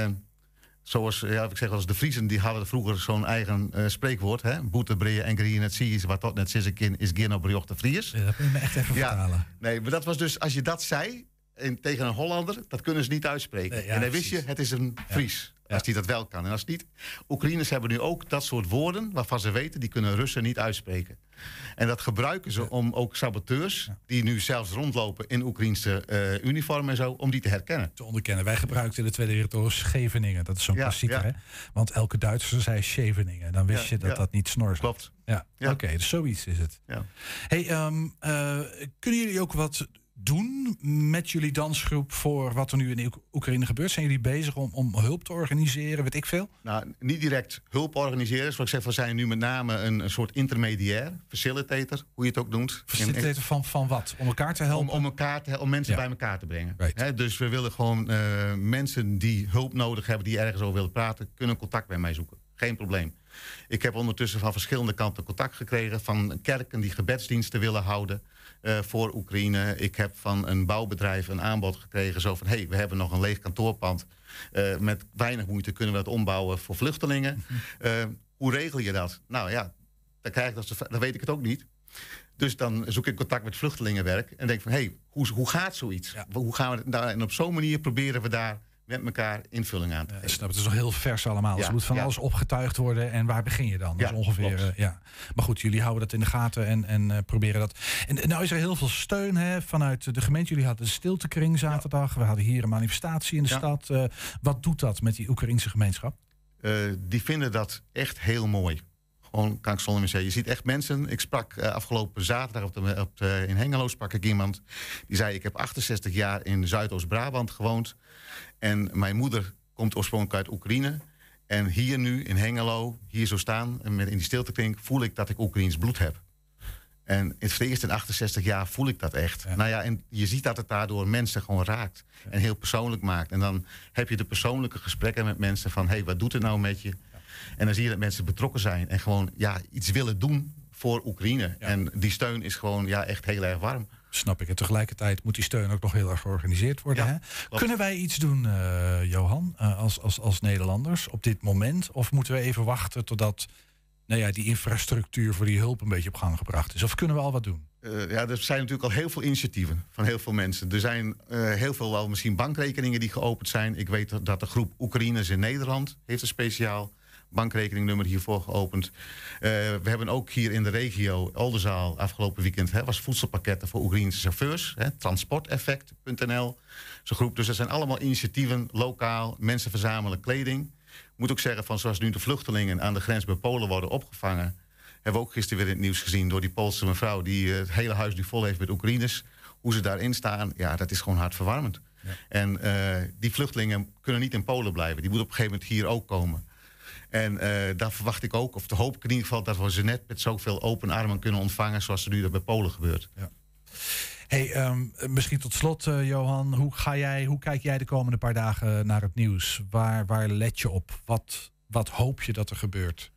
zoals ik zeg wel eens, de Friezen die hadden vroeger zo'n eigen spreekwoord. Boete, breien en grieën het zie je, wat tot net zissekin is geen op briocht de Fries. Ja, dat moet je me echt even vertalen. Nee, maar dat was dus, als je dat zei tegen een Hollander, dat kunnen ze niet uitspreken. Nee, en dan wist je, het is een Fries. Ja. Als die dat wel kan. En als niet, Oekraïners hebben nu ook dat soort woorden waarvan ze weten, die kunnen Russen niet uitspreken. En dat gebruiken ze om ook saboteurs, die nu zelfs rondlopen in Oekraïnse uniform en zo, om die te herkennen. Te onderkennen. Wij gebruikten in de Tweede Wereldoorlog Scheveningen. Dat is zo'n klassieker, hè? Want elke Duitser zei Scheveningen. Dan wist je dat dat niet snor was. Klopt. Ja. Oké, dus zoiets is het. Ja. Hey, kunnen jullie ook wat doen met jullie dansgroep voor wat er nu in Oekraïne gebeurt? Zijn jullie bezig om hulp te organiseren, weet ik veel? Nou, niet direct hulp organiseren. Zoals ik zeg, we zijn nu met name een soort intermediair, facilitator, hoe je het ook noemt. Facilitator van wat? Om elkaar te helpen? Om mensen bij elkaar te brengen. Right. Dus we willen gewoon mensen die hulp nodig hebben, die ergens over willen praten, kunnen contact bij mij zoeken. Geen probleem. Ik heb ondertussen van verschillende kanten contact gekregen van kerken die gebedsdiensten willen houden voor Oekraïne. Ik heb van een bouwbedrijf een aanbod gekregen zo van, we hebben nog een leeg kantoorpand. Met weinig moeite kunnen we dat ombouwen voor vluchtelingen. Hoe regel je dat? Nou ja, dan weet ik het ook niet. Dus dan zoek ik contact met vluchtelingenwerk en denk van, hoe gaat zoiets? Ja. Hoe gaan we het nou? En op zo'n manier proberen we daar met elkaar invulling aan te geven. Snap, het is nog heel vers allemaal. Dus er moet van alles opgetuigd worden. En waar begin je dan? Dat is ongeveer. Maar goed, jullie houden dat in de gaten en proberen dat. En nou is er heel veel steun vanuit de gemeente. Jullie hadden de stiltekring zaterdag. We hadden hier een manifestatie in de stad. Wat doet dat met die Oekraïnse gemeenschap? Die vinden dat echt heel mooi. Gewoon, kan ik zonder meer zeggen. Je ziet echt mensen. Ik sprak afgelopen zaterdag in Hengelo sprak ik iemand die zei, ik heb 68 jaar in Zuidoost-Brabant gewoond. En mijn moeder komt oorspronkelijk uit Oekraïne. En hier nu in Hengelo, hier zo staan, en in die stiltekring, voel ik dat ik Oekraïens bloed heb. En het eerst in 68 jaar voel ik dat echt. Ja. Nou ja, en je ziet dat het daardoor mensen gewoon raakt. Ja. En heel persoonlijk maakt. En dan heb je de persoonlijke gesprekken met mensen van, wat doet het nou met je? Ja. En dan zie je dat mensen betrokken zijn en gewoon iets willen doen voor Oekraïne. Ja. En die steun is gewoon echt heel erg warm. Snap ik. En tegelijkertijd moet die steun ook nog heel erg georganiseerd worden. Ja, hè? Kunnen wij iets doen, Johan, als Nederlanders op dit moment? Of moeten we even wachten totdat die infrastructuur voor die hulp een beetje op gang gebracht is? Of kunnen we al wat doen? Er zijn natuurlijk al heel veel initiatieven van heel veel mensen. Er zijn heel veel wel misschien bankrekeningen die geopend zijn. Ik weet dat de groep Oekraïners in Nederland heeft een speciaal bankrekeningnummer hiervoor geopend. We hebben ook hier in de regio, Oldenzaal, afgelopen weekend... was voedselpakketten voor Oekraïnse chauffeurs. Transporteffect.nl, zo'n groep. Dus er zijn allemaal initiatieven, lokaal. Mensen verzamelen kleding. Ik moet ook zeggen, zoals nu de vluchtelingen aan de grens bij Polen worden opgevangen... hebben we ook gisteren weer in het nieuws gezien door die Poolse mevrouw... die het hele huis nu vol heeft met Oekraïners. Hoe ze daarin staan, ja, dat is gewoon hartverwarmend. Ja. En die vluchtelingen kunnen niet in Polen blijven. Die moeten op een gegeven moment hier ook komen. En daar verwacht ik ook, of de hoop ik in ieder geval... dat we ze net met zoveel open armen kunnen ontvangen... zoals er nu bij Polen gebeurt. Ja. Hey, misschien tot slot, Johan. Hoe kijk jij de komende paar dagen naar het nieuws? Waar let je op? Wat hoop je dat er gebeurt?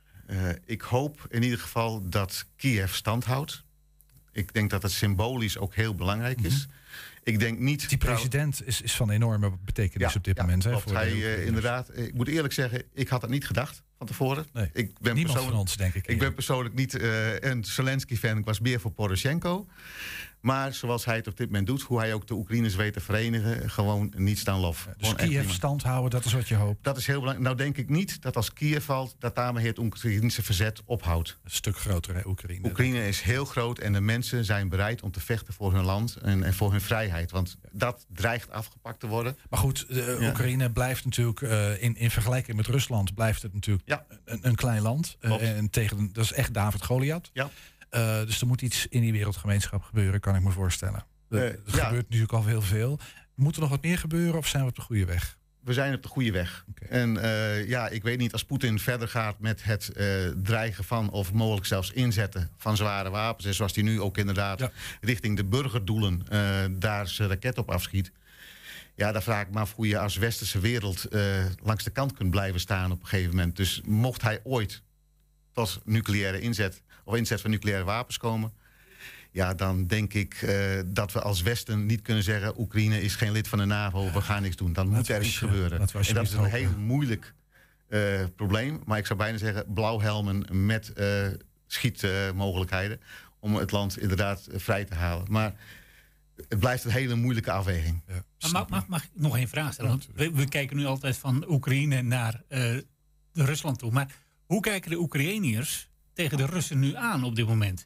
Ik hoop in ieder geval dat Kiev stand houdt. Ik denk dat het symbolisch ook heel belangrijk is. Ik denk niet... Die president is van enorme betekenis op dit moment. Klopt. Inderdaad, ik moet eerlijk zeggen, ik had het niet gedacht van tevoren. Nee, niemand van ons, denk ik. Ik ben persoonlijk niet een Zelensky-fan. Ik was meer voor Poroshenko. Maar zoals hij het op dit moment doet, hoe hij ook de Oekraïners weet te verenigen, gewoon niets dan lof. Dus Kiev stand houden, dat is wat je hoopt? Dat is heel belangrijk. Nou denk ik niet dat als Kiev valt, dat daarmee het Oekraïnse verzet ophoudt. Een stuk groter, hè, Oekraïne. Oekraïne is heel groot en de mensen zijn bereid om te vechten voor hun land en voor hun vrijheid. Want dat dreigt afgepakt te worden. Maar goed, Oekraïne blijft natuurlijk, in vergelijking met Rusland, blijft het natuurlijk een klein land. En dat is echt David Goliath. Ja. Dus er moet iets in die wereldgemeenschap gebeuren, kan ik me voorstellen. Er gebeurt natuurlijk al heel veel. Moet er nog wat meer gebeuren of zijn we op de goede weg? We zijn op de goede weg. Okay. En ik weet niet, als Poetin verder gaat met het dreigen van... of mogelijk zelfs inzetten van zware wapens... en zoals hij nu ook inderdaad richting de burgerdoelen... daar zijn raket op afschiet... ja, daar vraag ik me af hoe je als westerse wereld... langs de kant kunt blijven staan op een gegeven moment. Dus mocht hij ooit tot nucleaire inzet... of inzet van nucleaire wapens komen... ja, dan denk ik dat we als Westen niet kunnen zeggen... Oekraïne is geen lid van de NAVO, we gaan niks doen. Dan moet er iets gebeuren. En dat is een heel moeilijk probleem. Maar ik zou bijna zeggen blauwhelmen met schietmogelijkheden... om het land inderdaad vrij te halen. Maar het blijft een hele moeilijke afweging. Ja, mag ik nog één vraag stellen? Want we kijken nu altijd van Oekraïne naar Rusland toe. Maar hoe kijken de Oekraïniërs tegen de Russen nu aan op dit moment?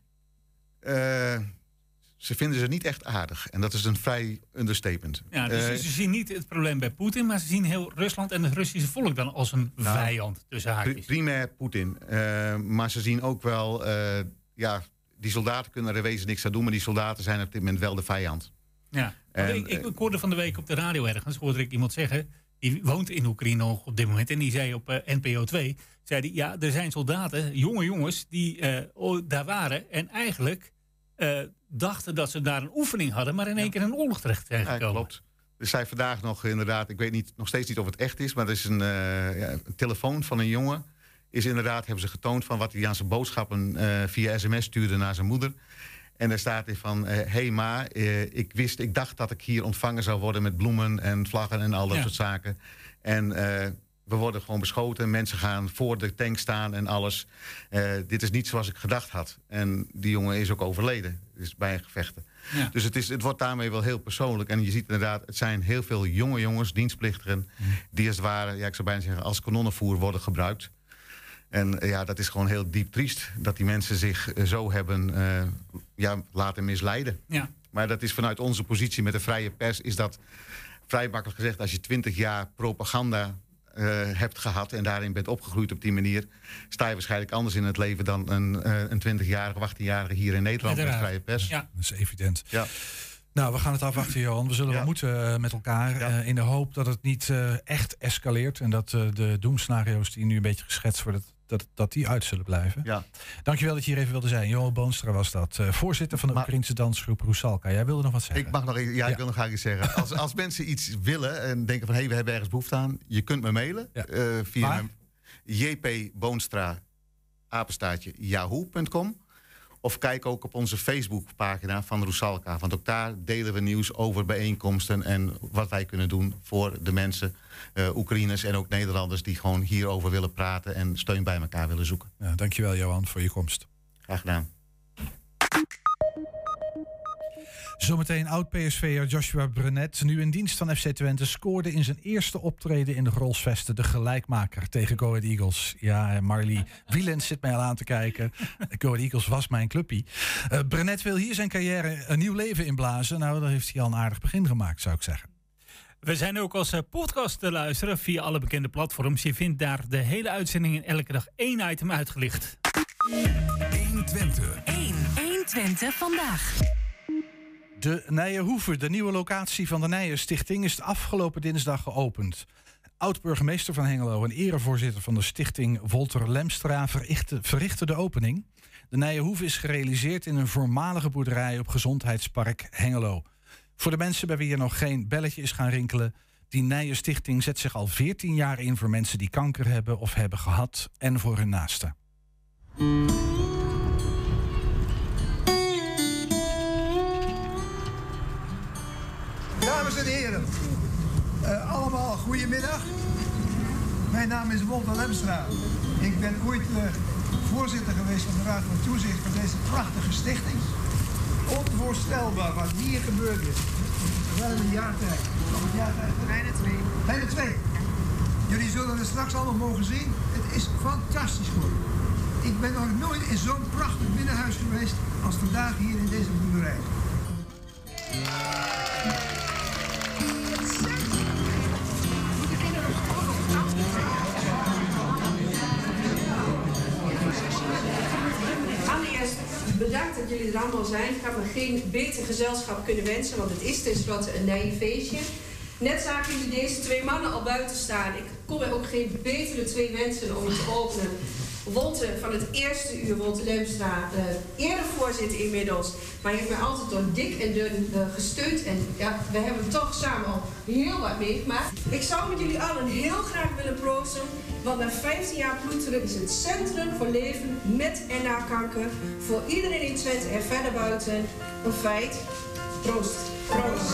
Ze vinden ze niet echt aardig. En dat is een vrij understatement. Ja, dus ze zien niet het probleem bij Poetin... maar ze zien heel Rusland en het Russische volk dan als een vijand tussen haakjes. Primair Poetin. Maar ze zien ook wel... die soldaten kunnen er wezen niks aan doen... maar die soldaten zijn op dit moment wel de vijand. Ja, ik hoorde van de week op de radio ergens... hoorde ik iemand zeggen... die woont in Oekraïne nog op dit moment... en die zei op NPO 2... zei die, ja, er zijn soldaten, jonge jongens... die daar waren en eigenlijk... dachten dat ze daar een oefening hadden... maar in één keer in een oorlog terecht zijn gekomen. Ja, klopt. Er zijn vandaag nog inderdaad... ik weet nog steeds niet of het echt is... maar er is een telefoon van een jongen... hebben ze getoond van wat hij aan zijn boodschappen... via sms stuurde naar zijn moeder. En daar staat hij van... hey ma, ik dacht dat ik hier ontvangen zou worden... met bloemen en vlaggen en al dat soort zaken. En... we worden gewoon beschoten. Mensen gaan voor de tank staan en alles. Dit is niet zoals ik gedacht had. En die jongen is ook overleden. Dus bij gevechten. Ja. Dus het wordt daarmee wel heel persoonlijk. En je ziet inderdaad, het zijn heel veel jonge jongens, dienstplichtigen... die als het ware, ik zou bijna zeggen, als kanonnenvoer worden gebruikt. En dat is gewoon heel diep triest. Dat die mensen zich zo hebben laten misleiden. Ja. Maar dat is vanuit onze positie met de vrije pers... is dat vrij makkelijk gezegd, als je 20 jaar propaganda... hebt gehad en daarin bent opgegroeid op die manier... sta je waarschijnlijk anders in het leven dan een 20-jarige of 18-jarige hier in Nederland met vrije pers. Ja, dat is evident. Ja. Nou, we gaan het afwachten, Johan. We zullen wel moeten met elkaar in de hoop dat het niet echt escaleert... en dat de doemscenario's die nu een beetje geschetst worden... dat die uit zullen blijven. Ja. Dankjewel dat je hier even wilde zijn. Johan Boonstra was dat. Voorzitter van de Oekraïnse dansgroep Rusalka. Jij wilde nog wat zeggen? Ik mag nog ik wil nog graag iets zeggen. Als mensen iets willen en denken van... we hebben ergens behoefte aan... je kunt me mailen via jpboonstra@yahoo.com. Of kijk ook op onze Facebookpagina van Rusalka. Want ook daar delen we nieuws over bijeenkomsten... en wat wij kunnen doen voor de mensen... Oekraïners en ook Nederlanders die gewoon hierover willen praten... en steun bij elkaar willen zoeken. Ja, dankjewel, Johan, voor je komst. Graag gedaan. Zometeen oud-PSV'er Joshua Brenet, nu in dienst van FC Twente, scoorde in zijn eerste optreden in de Grolsvesten de gelijkmaker tegen Go Ahead Eagles. Ja, Marley Wielenz zit mij al aan te kijken. Go Ahead Eagles was mijn clubpie. Brenet wil hier zijn carrière een nieuw leven inblazen. Nou, daar heeft hij al een aardig begin gemaakt, zou ik zeggen. We zijn ook als podcast te luisteren via alle bekende platforms. Je vindt daar de hele uitzending en elke dag 1 item uitgelicht. 120. 120 vandaag. De Nijenhoeve, de nieuwe locatie van de Nijenstichting, is de afgelopen dinsdag geopend. Oud-burgemeester van Hengelo en erevoorzitter van de stichting Wolter Lemstra verrichtte de opening. De Nijenhoeve is gerealiseerd in een voormalige boerderij op Gezondheidspark Hengelo. Voor de mensen bij wie er nog geen belletje is gaan rinkelen, die Nijenstichting zet zich al 14 jaar in voor mensen die kanker hebben of hebben gehad en voor hun naasten. Dames en heren, allemaal goedemiddag. Mijn naam is Wolter Lemstra. Ik ben ooit voorzitter geweest van de Raad van Toezicht van deze prachtige stichting. Onvoorstelbaar wat hier gebeurd is. Wel in een jaar tijd. Nog een jaar tijd? Bijna 2. Bijna 2. Jullie zullen het straks allemaal mogen zien. Het is fantastisch geworden. Ik ben nog nooit in zo'n prachtig binnenhuis geweest als vandaag hier in deze boerderij. Allereerst bedankt dat jullie er allemaal zijn. Ik had me geen beter gezelschap kunnen wensen, want het is tenslotte een Nijenfeestje. Net zagen jullie deze 2 mannen al buiten staan. Ik kon me ook geen betere 2 wensen om het te openen. Wolter van het eerste uur, Wolter Lemstra, eerder voorzitter inmiddels. Maar hij heeft mij altijd door dik en dun gesteund. En ja, we hebben toch samen al heel wat meegemaakt. Ik zou met jullie allen heel graag willen proosten. Want na 15 jaar ploeteren is het centrum voor leven met en na kanker voor iedereen in Twente en verder buiten een feit. Proost. Proost.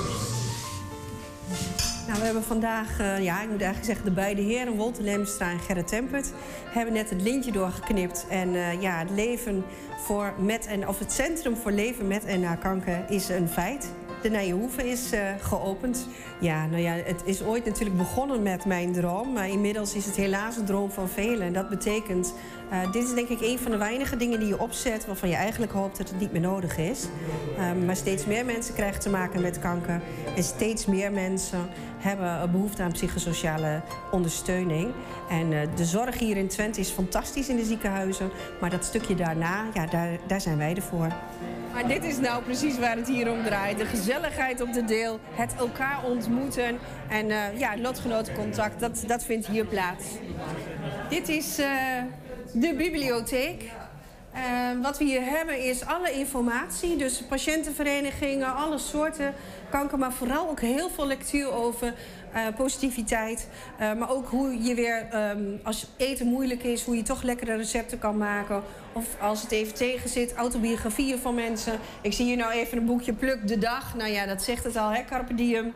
Nou, we hebben vandaag, ik moet eigenlijk zeggen, de beide heren, Wolter Lemstra en Gerrit Tempert, hebben net het lintje doorgeknipt. En het leven voor het centrum voor leven met en na kanker is een feit. De Nijenhoeve is geopend. Ja, het is ooit natuurlijk begonnen met mijn droom, maar inmiddels is het helaas een droom van velen. En dat betekent, dit is denk ik een van de weinige dingen die je opzet waarvan je eigenlijk hoopt dat het niet meer nodig is. Maar steeds meer mensen krijgen te maken met kanker en steeds meer mensen hebben behoefte aan psychosociale ondersteuning. En de zorg hier in Twente is fantastisch in de ziekenhuizen, maar dat stukje daarna, daar zijn wij ervoor. Maar dit is nou precies waar het hier om draait. De gezelligheid op de deel, het elkaar ontmoeten en lotgenotencontact, dat vindt hier plaats. Dit is de bibliotheek. Wat we hier hebben is alle informatie, dus patiëntenverenigingen, alle soorten kanker, maar vooral ook heel veel lectuur over positiviteit. Maar ook hoe je weer, als eten moeilijk is, hoe je toch lekkere recepten kan maken. Of als het even tegen zit, autobiografieën van mensen. Ik zie hier nou even een boekje Pluk de Dag. Nou ja, dat zegt het al, hè, Carpe Diem.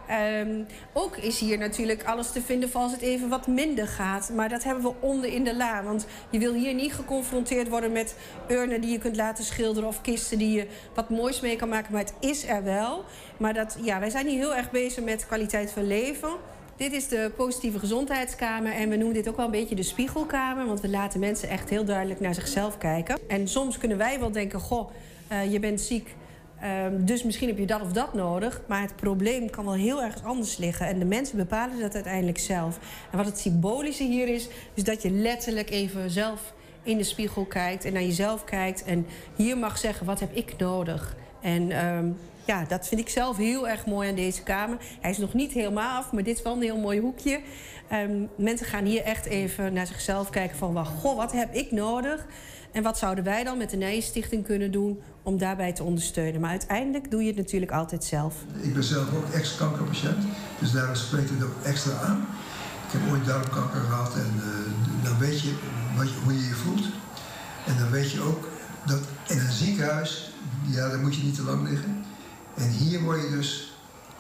Ook is hier natuurlijk alles te vinden voor als het even wat minder gaat. Maar dat hebben we onder in de la. Want je wil hier niet geconfronteerd worden met urnen die je kunt laten schilderen of kisten die je wat moois mee kan maken. Maar het is er wel. Maar wij zijn hier heel erg bezig met kwaliteit van leven. Dit is de positieve gezondheidskamer en we noemen dit ook wel een beetje de spiegelkamer. Want we laten mensen echt heel duidelijk naar zichzelf kijken. En soms kunnen wij wel denken, goh, je bent ziek. Dus misschien heb je dat of dat nodig. Maar het probleem kan wel heel erg anders liggen. En de mensen bepalen dat uiteindelijk zelf. En wat het symbolische hier is dat je letterlijk even zelf in de spiegel kijkt en naar jezelf kijkt. En hier mag zeggen, wat heb ik nodig? En dat vind ik zelf heel erg mooi aan deze kamer. Hij is nog niet helemaal af, maar dit is wel een heel mooi hoekje. Mensen gaan hier echt even naar zichzelf kijken van, goh, wat heb ik nodig? En wat zouden wij dan met de Nijenstichting kunnen doen om daarbij te ondersteunen? Maar uiteindelijk doe je het natuurlijk altijd zelf. Ik ben zelf ook ex-kankerpatiënt, dus daarom spreekt het ook extra aan. Ik heb ooit darmkanker gehad en dan weet je hoe je je voelt. En dan weet je ook dat in een ziekenhuis, daar moet je niet te lang liggen. En hier word je dus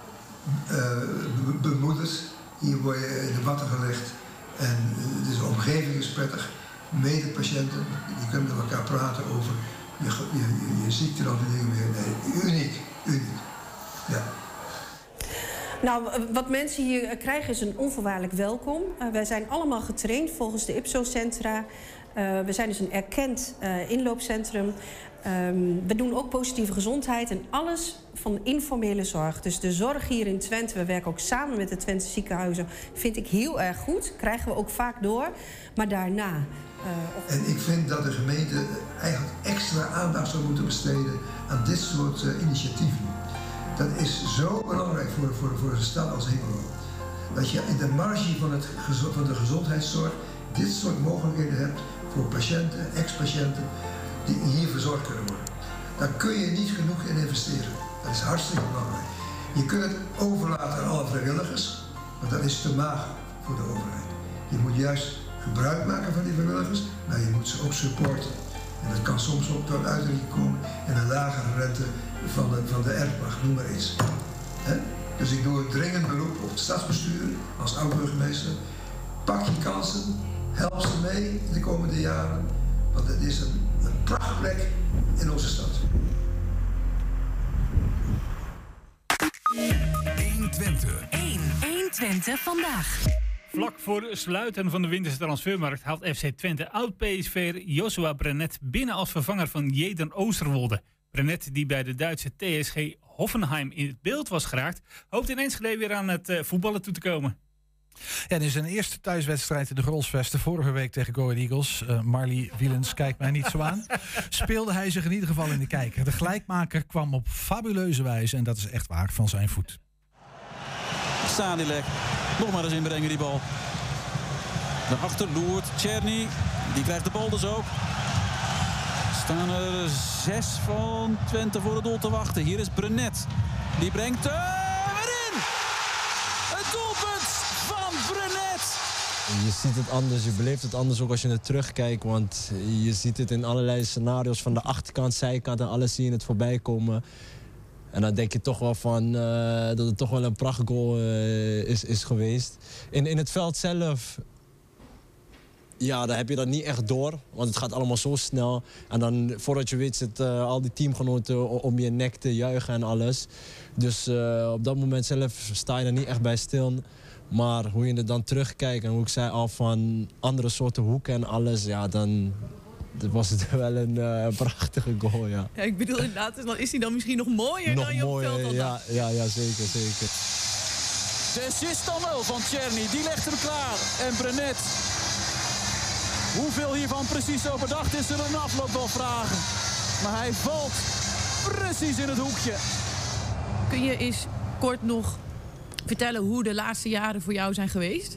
bemoedigd, hier word je in de watten gelegd. En dus de omgeving is prettig. Medepatiënten, je kunt met elkaar praten over je ziekte of dingen meer. Nee, uniek. Uniek. Ja. Nou, wat mensen hier krijgen is een onvoorwaardelijk welkom. Wij zijn allemaal getraind volgens de IPSO-centra. We zijn dus een erkend inloopcentrum. We doen ook positieve gezondheid en alles van informele zorg. Dus de zorg hier in Twente, we werken ook samen met de Twente ziekenhuizen, vind ik heel erg goed. Krijgen we ook vaak door. Maar daarna... En ik vind dat de gemeente eigenlijk extra aandacht zou moeten besteden aan dit soort initiatieven. Dat is zo belangrijk voor een stad als Hengelo. Dat je in de marge van de gezondheidszorg dit soort mogelijkheden hebt voor patiënten, ex-patiënten, die hier verzorgd kunnen worden. Daar kun je niet genoeg in investeren. Dat is hartstikke belangrijk. Je kunt het overlaten aan alle vrijwilligers, maar dat is te mager voor de overheid. Je moet juist gebruik maken van die vrijwilligers, maar je moet ze ook supporten. En dat kan soms ook tot uitdrukking komen in een lagere rente van de erfpacht, noem maar iets. Dus ik doe een dringend beroep op het stadsbestuur als oud-burgemeester. Pak je kansen, help ze mee in de komende jaren, want het is een prachtplek in onze stad. 120 vandaag. Vlak voor sluiten van de winterse transfermarkt haalt FC Twente oud-PSV'er Joshua Brenet binnen als vervanger van Jeden Oosterwolde. Brenet, die bij de Duitse TSG Hoffenheim in het beeld was geraakt, hoopt in Enschede weer aan het voetballen toe te komen. Ja, in zijn eerste thuiswedstrijd in de Grolsvesten vorige week tegen Go Ahead Eagles, Marley Wielens kijkt mij niet zo aan, speelde hij zich in ieder geval in de kijker. De gelijkmaker kwam op fabuleuze wijze, en dat is echt waar, van zijn voet. Sadilek, nog maar eens inbrengen die bal. Daarachter loert Tjerny, die krijgt de bal dus ook. Staan er 6 van Twente voor het doel te wachten. Hier is Brenet, die brengt erin! Het doelpunt van Brenet! Je ziet het anders, je beleeft het anders ook als je het terugkijkt. Want je ziet het in allerlei scenario's van de achterkant, zijkant en alles zie je het voorbij komen. En dan denk je toch wel van dat het toch wel een prachtgoal is geweest. In het veld zelf, ja, daar heb je dat niet echt door. Want het gaat allemaal zo snel. En dan voordat je weet zit al die teamgenoten om je nek te juichen en alles. Dus op dat moment zelf sta je er niet echt bij stil. Maar hoe je er dan terugkijkt en hoe ik zei al van andere soorten hoeken en alles, ja, dan was het wel een prachtige goal, ja. Ja, ik bedoel inderdaad, dan is hij dan misschien nog mooier dan je op het veld al dacht. Ja, zeker, zeker. De assist dan wel van Tjerny, die legt hem klaar. En Brenet, hoeveel hiervan precies zo bedacht is, zullen een afloop wel vragen. Maar hij valt precies in het hoekje. Kun je eens kort nog vertellen hoe de laatste jaren voor jou zijn geweest?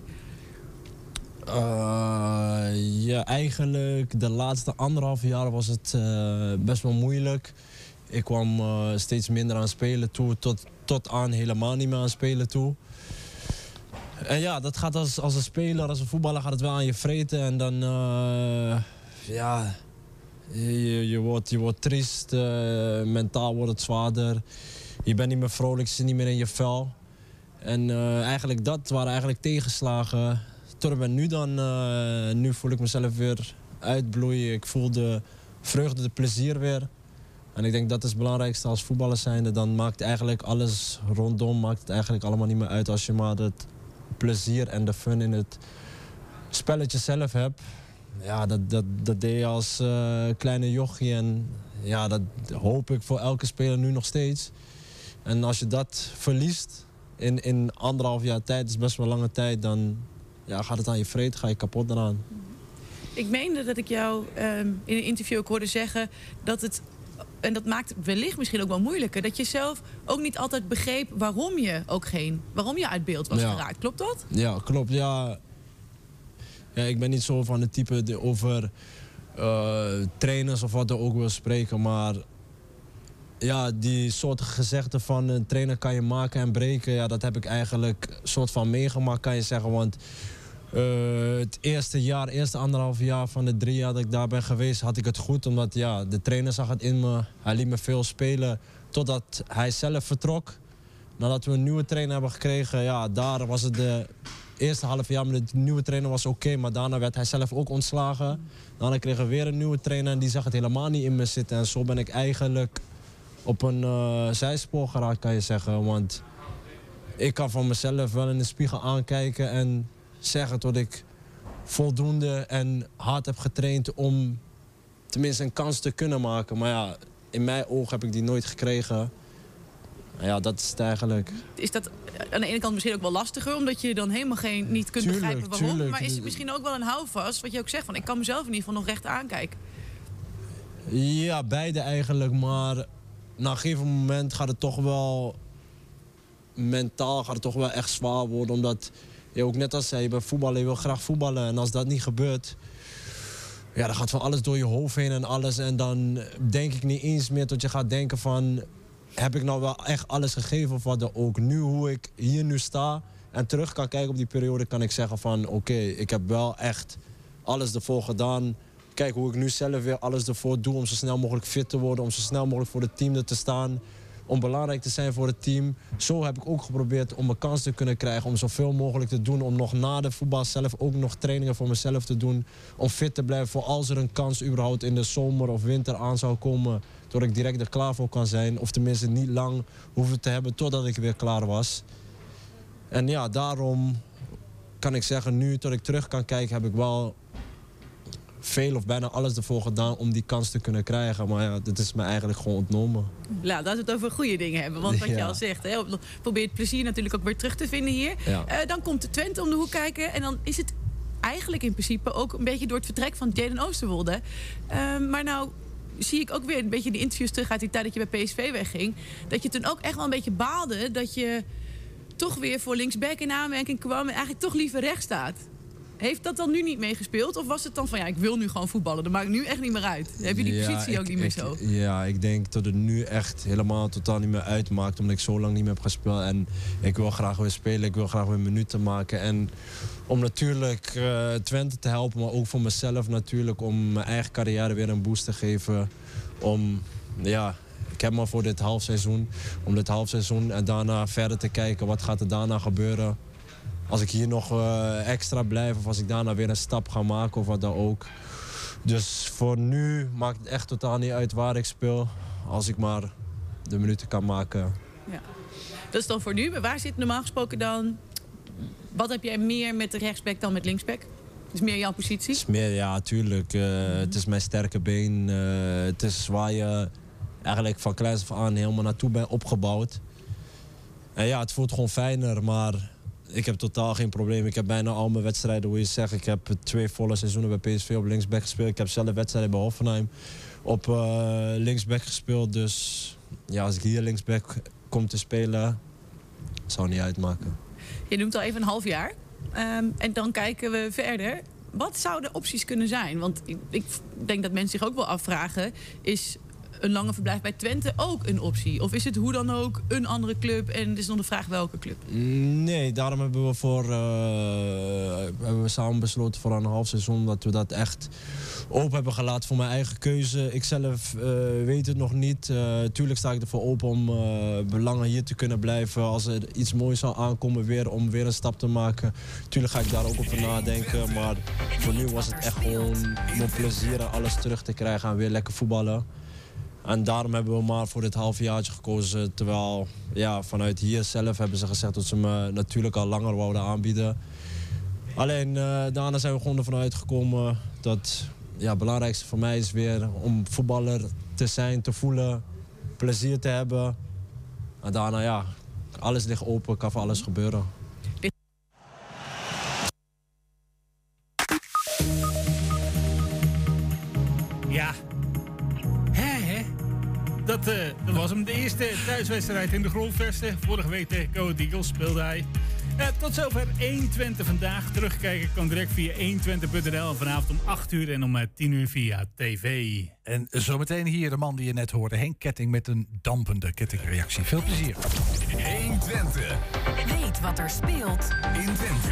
Ja, eigenlijk de laatste 1,5 jaar was het best wel moeilijk. Ik kwam steeds minder aan spelen toe, tot aan helemaal niet meer aan spelen toe. En ja, dat gaat als een speler, als een voetballer gaat het wel aan je vreten. En dan, ja, je wordt triest, mentaal wordt het zwaarder. Je bent niet meer vrolijk, je zit niet meer in je vel. En eigenlijk dat waren eigenlijk tegenslagen. En nu voel ik mezelf weer uitbloeien. Ik voel de vreugde, de plezier weer. En ik denk dat is het belangrijkste als voetballer zijnde. Dan maakt eigenlijk alles rondom, maakt het eigenlijk allemaal niet meer uit als je maar het plezier en de fun in het spelletje zelf hebt. Ja, dat deed je als kleine jochie en ja, dat hoop ik voor elke speler nu nog steeds. En als je dat verliest in 1,5 jaar tijd, dat is best wel lange tijd, dan ja, gaat het aan je vreet, ga je kapot eraan. Ik meende dat ik jou in een interview ook hoorde zeggen dat het, en dat maakt het wellicht misschien ook wel moeilijker, dat je zelf ook niet altijd begreep waarom je uit beeld was geraakt. Klopt dat? Ja, klopt. Ja, ik ben niet zo van het type die over trainers of wat er ook wil spreken, maar ja, die soort gezegden van een trainer kan je maken en breken, ja, dat heb ik eigenlijk soort van meegemaakt, kan je zeggen. Want het eerste 1,5 jaar van de 3 jaar dat ik daar ben geweest, had ik het goed. Omdat ja, de trainer zag het in me. Hij liet me veel spelen totdat hij zelf vertrok. Nadat we een nieuwe trainer hebben gekregen, ja, daar was het de eerste half jaar met de nieuwe trainer was oké, maar daarna werd hij zelf ook ontslagen. Daarna kregen we weer een nieuwe trainer en die zag het helemaal niet in me zitten. En zo ben ik eigenlijk op een zijspoor geraakt, kan je zeggen. Want ik kan van mezelf wel in de spiegel aankijken en zeggen dat ik voldoende en hard heb getraind om tenminste een kans te kunnen maken. Maar ja, in mijn ogen heb ik die nooit gekregen. Ja, dat is het eigenlijk. Is dat aan de ene kant misschien ook wel lastiger, omdat je dan helemaal niet kunt begrijpen waarom? Tuurlijk. Maar is het misschien ook wel een houvast, wat je ook zegt, van ik kan mezelf in ieder geval nog recht aankijken? Ja, beide eigenlijk. Maar na een gegeven moment gaat het toch wel mentaal echt zwaar worden. Omdat je ook net als zei, je bent voetballer, je wil graag voetballen. En als dat niet gebeurt, ja, dan gaat van alles door je hoofd heen en alles. En dan denk ik niet eens meer dat je gaat denken van, heb ik nou wel echt alles gegeven of wat dan ook. Nu, hoe ik hier nu sta en terug kan kijken op die periode, kan ik zeggen van oké, ik heb wel echt alles ervoor gedaan. Kijk hoe ik nu zelf weer alles ervoor doe om zo snel mogelijk fit te worden, om zo snel mogelijk voor het team er te staan, om belangrijk te zijn voor het team. Zo heb ik ook geprobeerd om een kans te kunnen krijgen om zoveel mogelijk te doen, om nog na de voetbal zelf ook nog trainingen voor mezelf te doen, om fit te blijven voor als er een kans überhaupt in de zomer of winter aan zou komen, dat ik direct er klaar voor kan zijn. Of tenminste niet lang hoeven te hebben totdat ik weer klaar was. En ja, daarom kan ik zeggen, nu dat ik terug kan kijken, heb ik wel veel of bijna alles ervoor gedaan om die kans te kunnen krijgen. Maar ja, dit is me eigenlijk gewoon ontnomen. Nou, laten we het over goede dingen hebben. Want wat je al zegt, hè, probeer het plezier natuurlijk ook weer terug te vinden hier. Ja. Dan komt de Twente om de hoek kijken. En dan is het eigenlijk in principe ook een beetje door het vertrek van Jayden Oosterwolde. Maar nou zie ik ook weer een beetje de interviews terug uit die tijd dat je bij PSV wegging. Dat je toen ook echt wel een beetje baalde dat je toch weer voor linksback in aanmerking kwam en eigenlijk toch liever rechts staat. Heeft dat dan nu niet meegespeeld? Of was het dan van, ja, ik wil nu gewoon voetballen. Dat maakt nu echt niet meer uit. Heb je die positie ook niet meer zo? Ja, ik denk dat het nu echt helemaal totaal niet meer uitmaakt. Omdat ik zo lang niet meer heb gespeeld. En ik wil graag weer spelen. Ik wil graag weer minuten maken. En om natuurlijk Twente te helpen. Maar ook voor mezelf natuurlijk. Om mijn eigen carrière weer een boost te geven. Ik heb maar voor dit halfseizoen. Om dit halfseizoen en daarna verder te kijken. Wat gaat er daarna gebeuren? Als ik hier nog extra blijf of als ik daarna weer een stap ga maken of wat dan ook. Dus voor nu maakt het echt totaal niet uit waar ik speel. Als ik maar de minuten kan maken. Ja. Dat is dan voor nu. Maar waar zit normaal gesproken dan? Wat heb jij meer met de rechtsback dan met linksback? Is meer jouw positie? Het is meer, ja, tuurlijk. Het is mijn sterke been. Het is waar je eigenlijk van kleins af aan helemaal naartoe bent opgebouwd. En ja, het voelt gewoon fijner, maar ik heb totaal geen probleem. Ik heb bijna al mijn wedstrijden, hoe je zegt. Ik heb 2 volle seizoenen bij PSV op linksback gespeeld. Ik heb zelf wedstrijden bij Hoffenheim op linksback gespeeld. Dus ja, als ik hier linksback kom te spelen, zou niet uitmaken. Je noemt al even een half jaar. En dan kijken we verder. Wat zouden opties kunnen zijn? Want ik denk dat mensen zich ook wel afvragen, is een lange verblijf bij Twente ook een optie? Of is het hoe dan ook een andere club en het is nog de vraag welke club? Nee, daarom hebben we samen besloten voor een half seizoen dat we dat echt open hebben gelaten voor mijn eigen keuze. Ik zelf weet het nog niet. Tuurlijk sta ik ervoor open om langer hier te kunnen blijven. Als er iets moois zal aankomen om weer een stap te maken. Tuurlijk ga ik daar ook over nadenken. Maar voor nu was het echt gewoon mijn plezier en alles terug te krijgen en weer lekker voetballen. En daarom hebben we maar voor dit halfjaartje gekozen. Terwijl ja, vanuit hier zelf hebben ze gezegd dat ze me natuurlijk al langer wouden aanbieden. Alleen daarna zijn we gewoon ervan uitgekomen dat het belangrijkste voor mij is weer om voetballer te zijn, te voelen, plezier te hebben. En daarna alles ligt open, kan voor alles gebeuren. Ja. Dat was hem, de eerste thuiswedstrijd in de Grolvesten. Vorige week tegen Go Ahead Eagles speelde hij. Tot zover 120 vandaag. Terugkijken kan direct via 120.nl. En vanavond om 8 uur en om 10 uur via tv. En zometeen hier de man die je net hoorde. Henk Ketting met een dampende kettingreactie. Veel plezier. 120. Weet wat er speelt in Twente.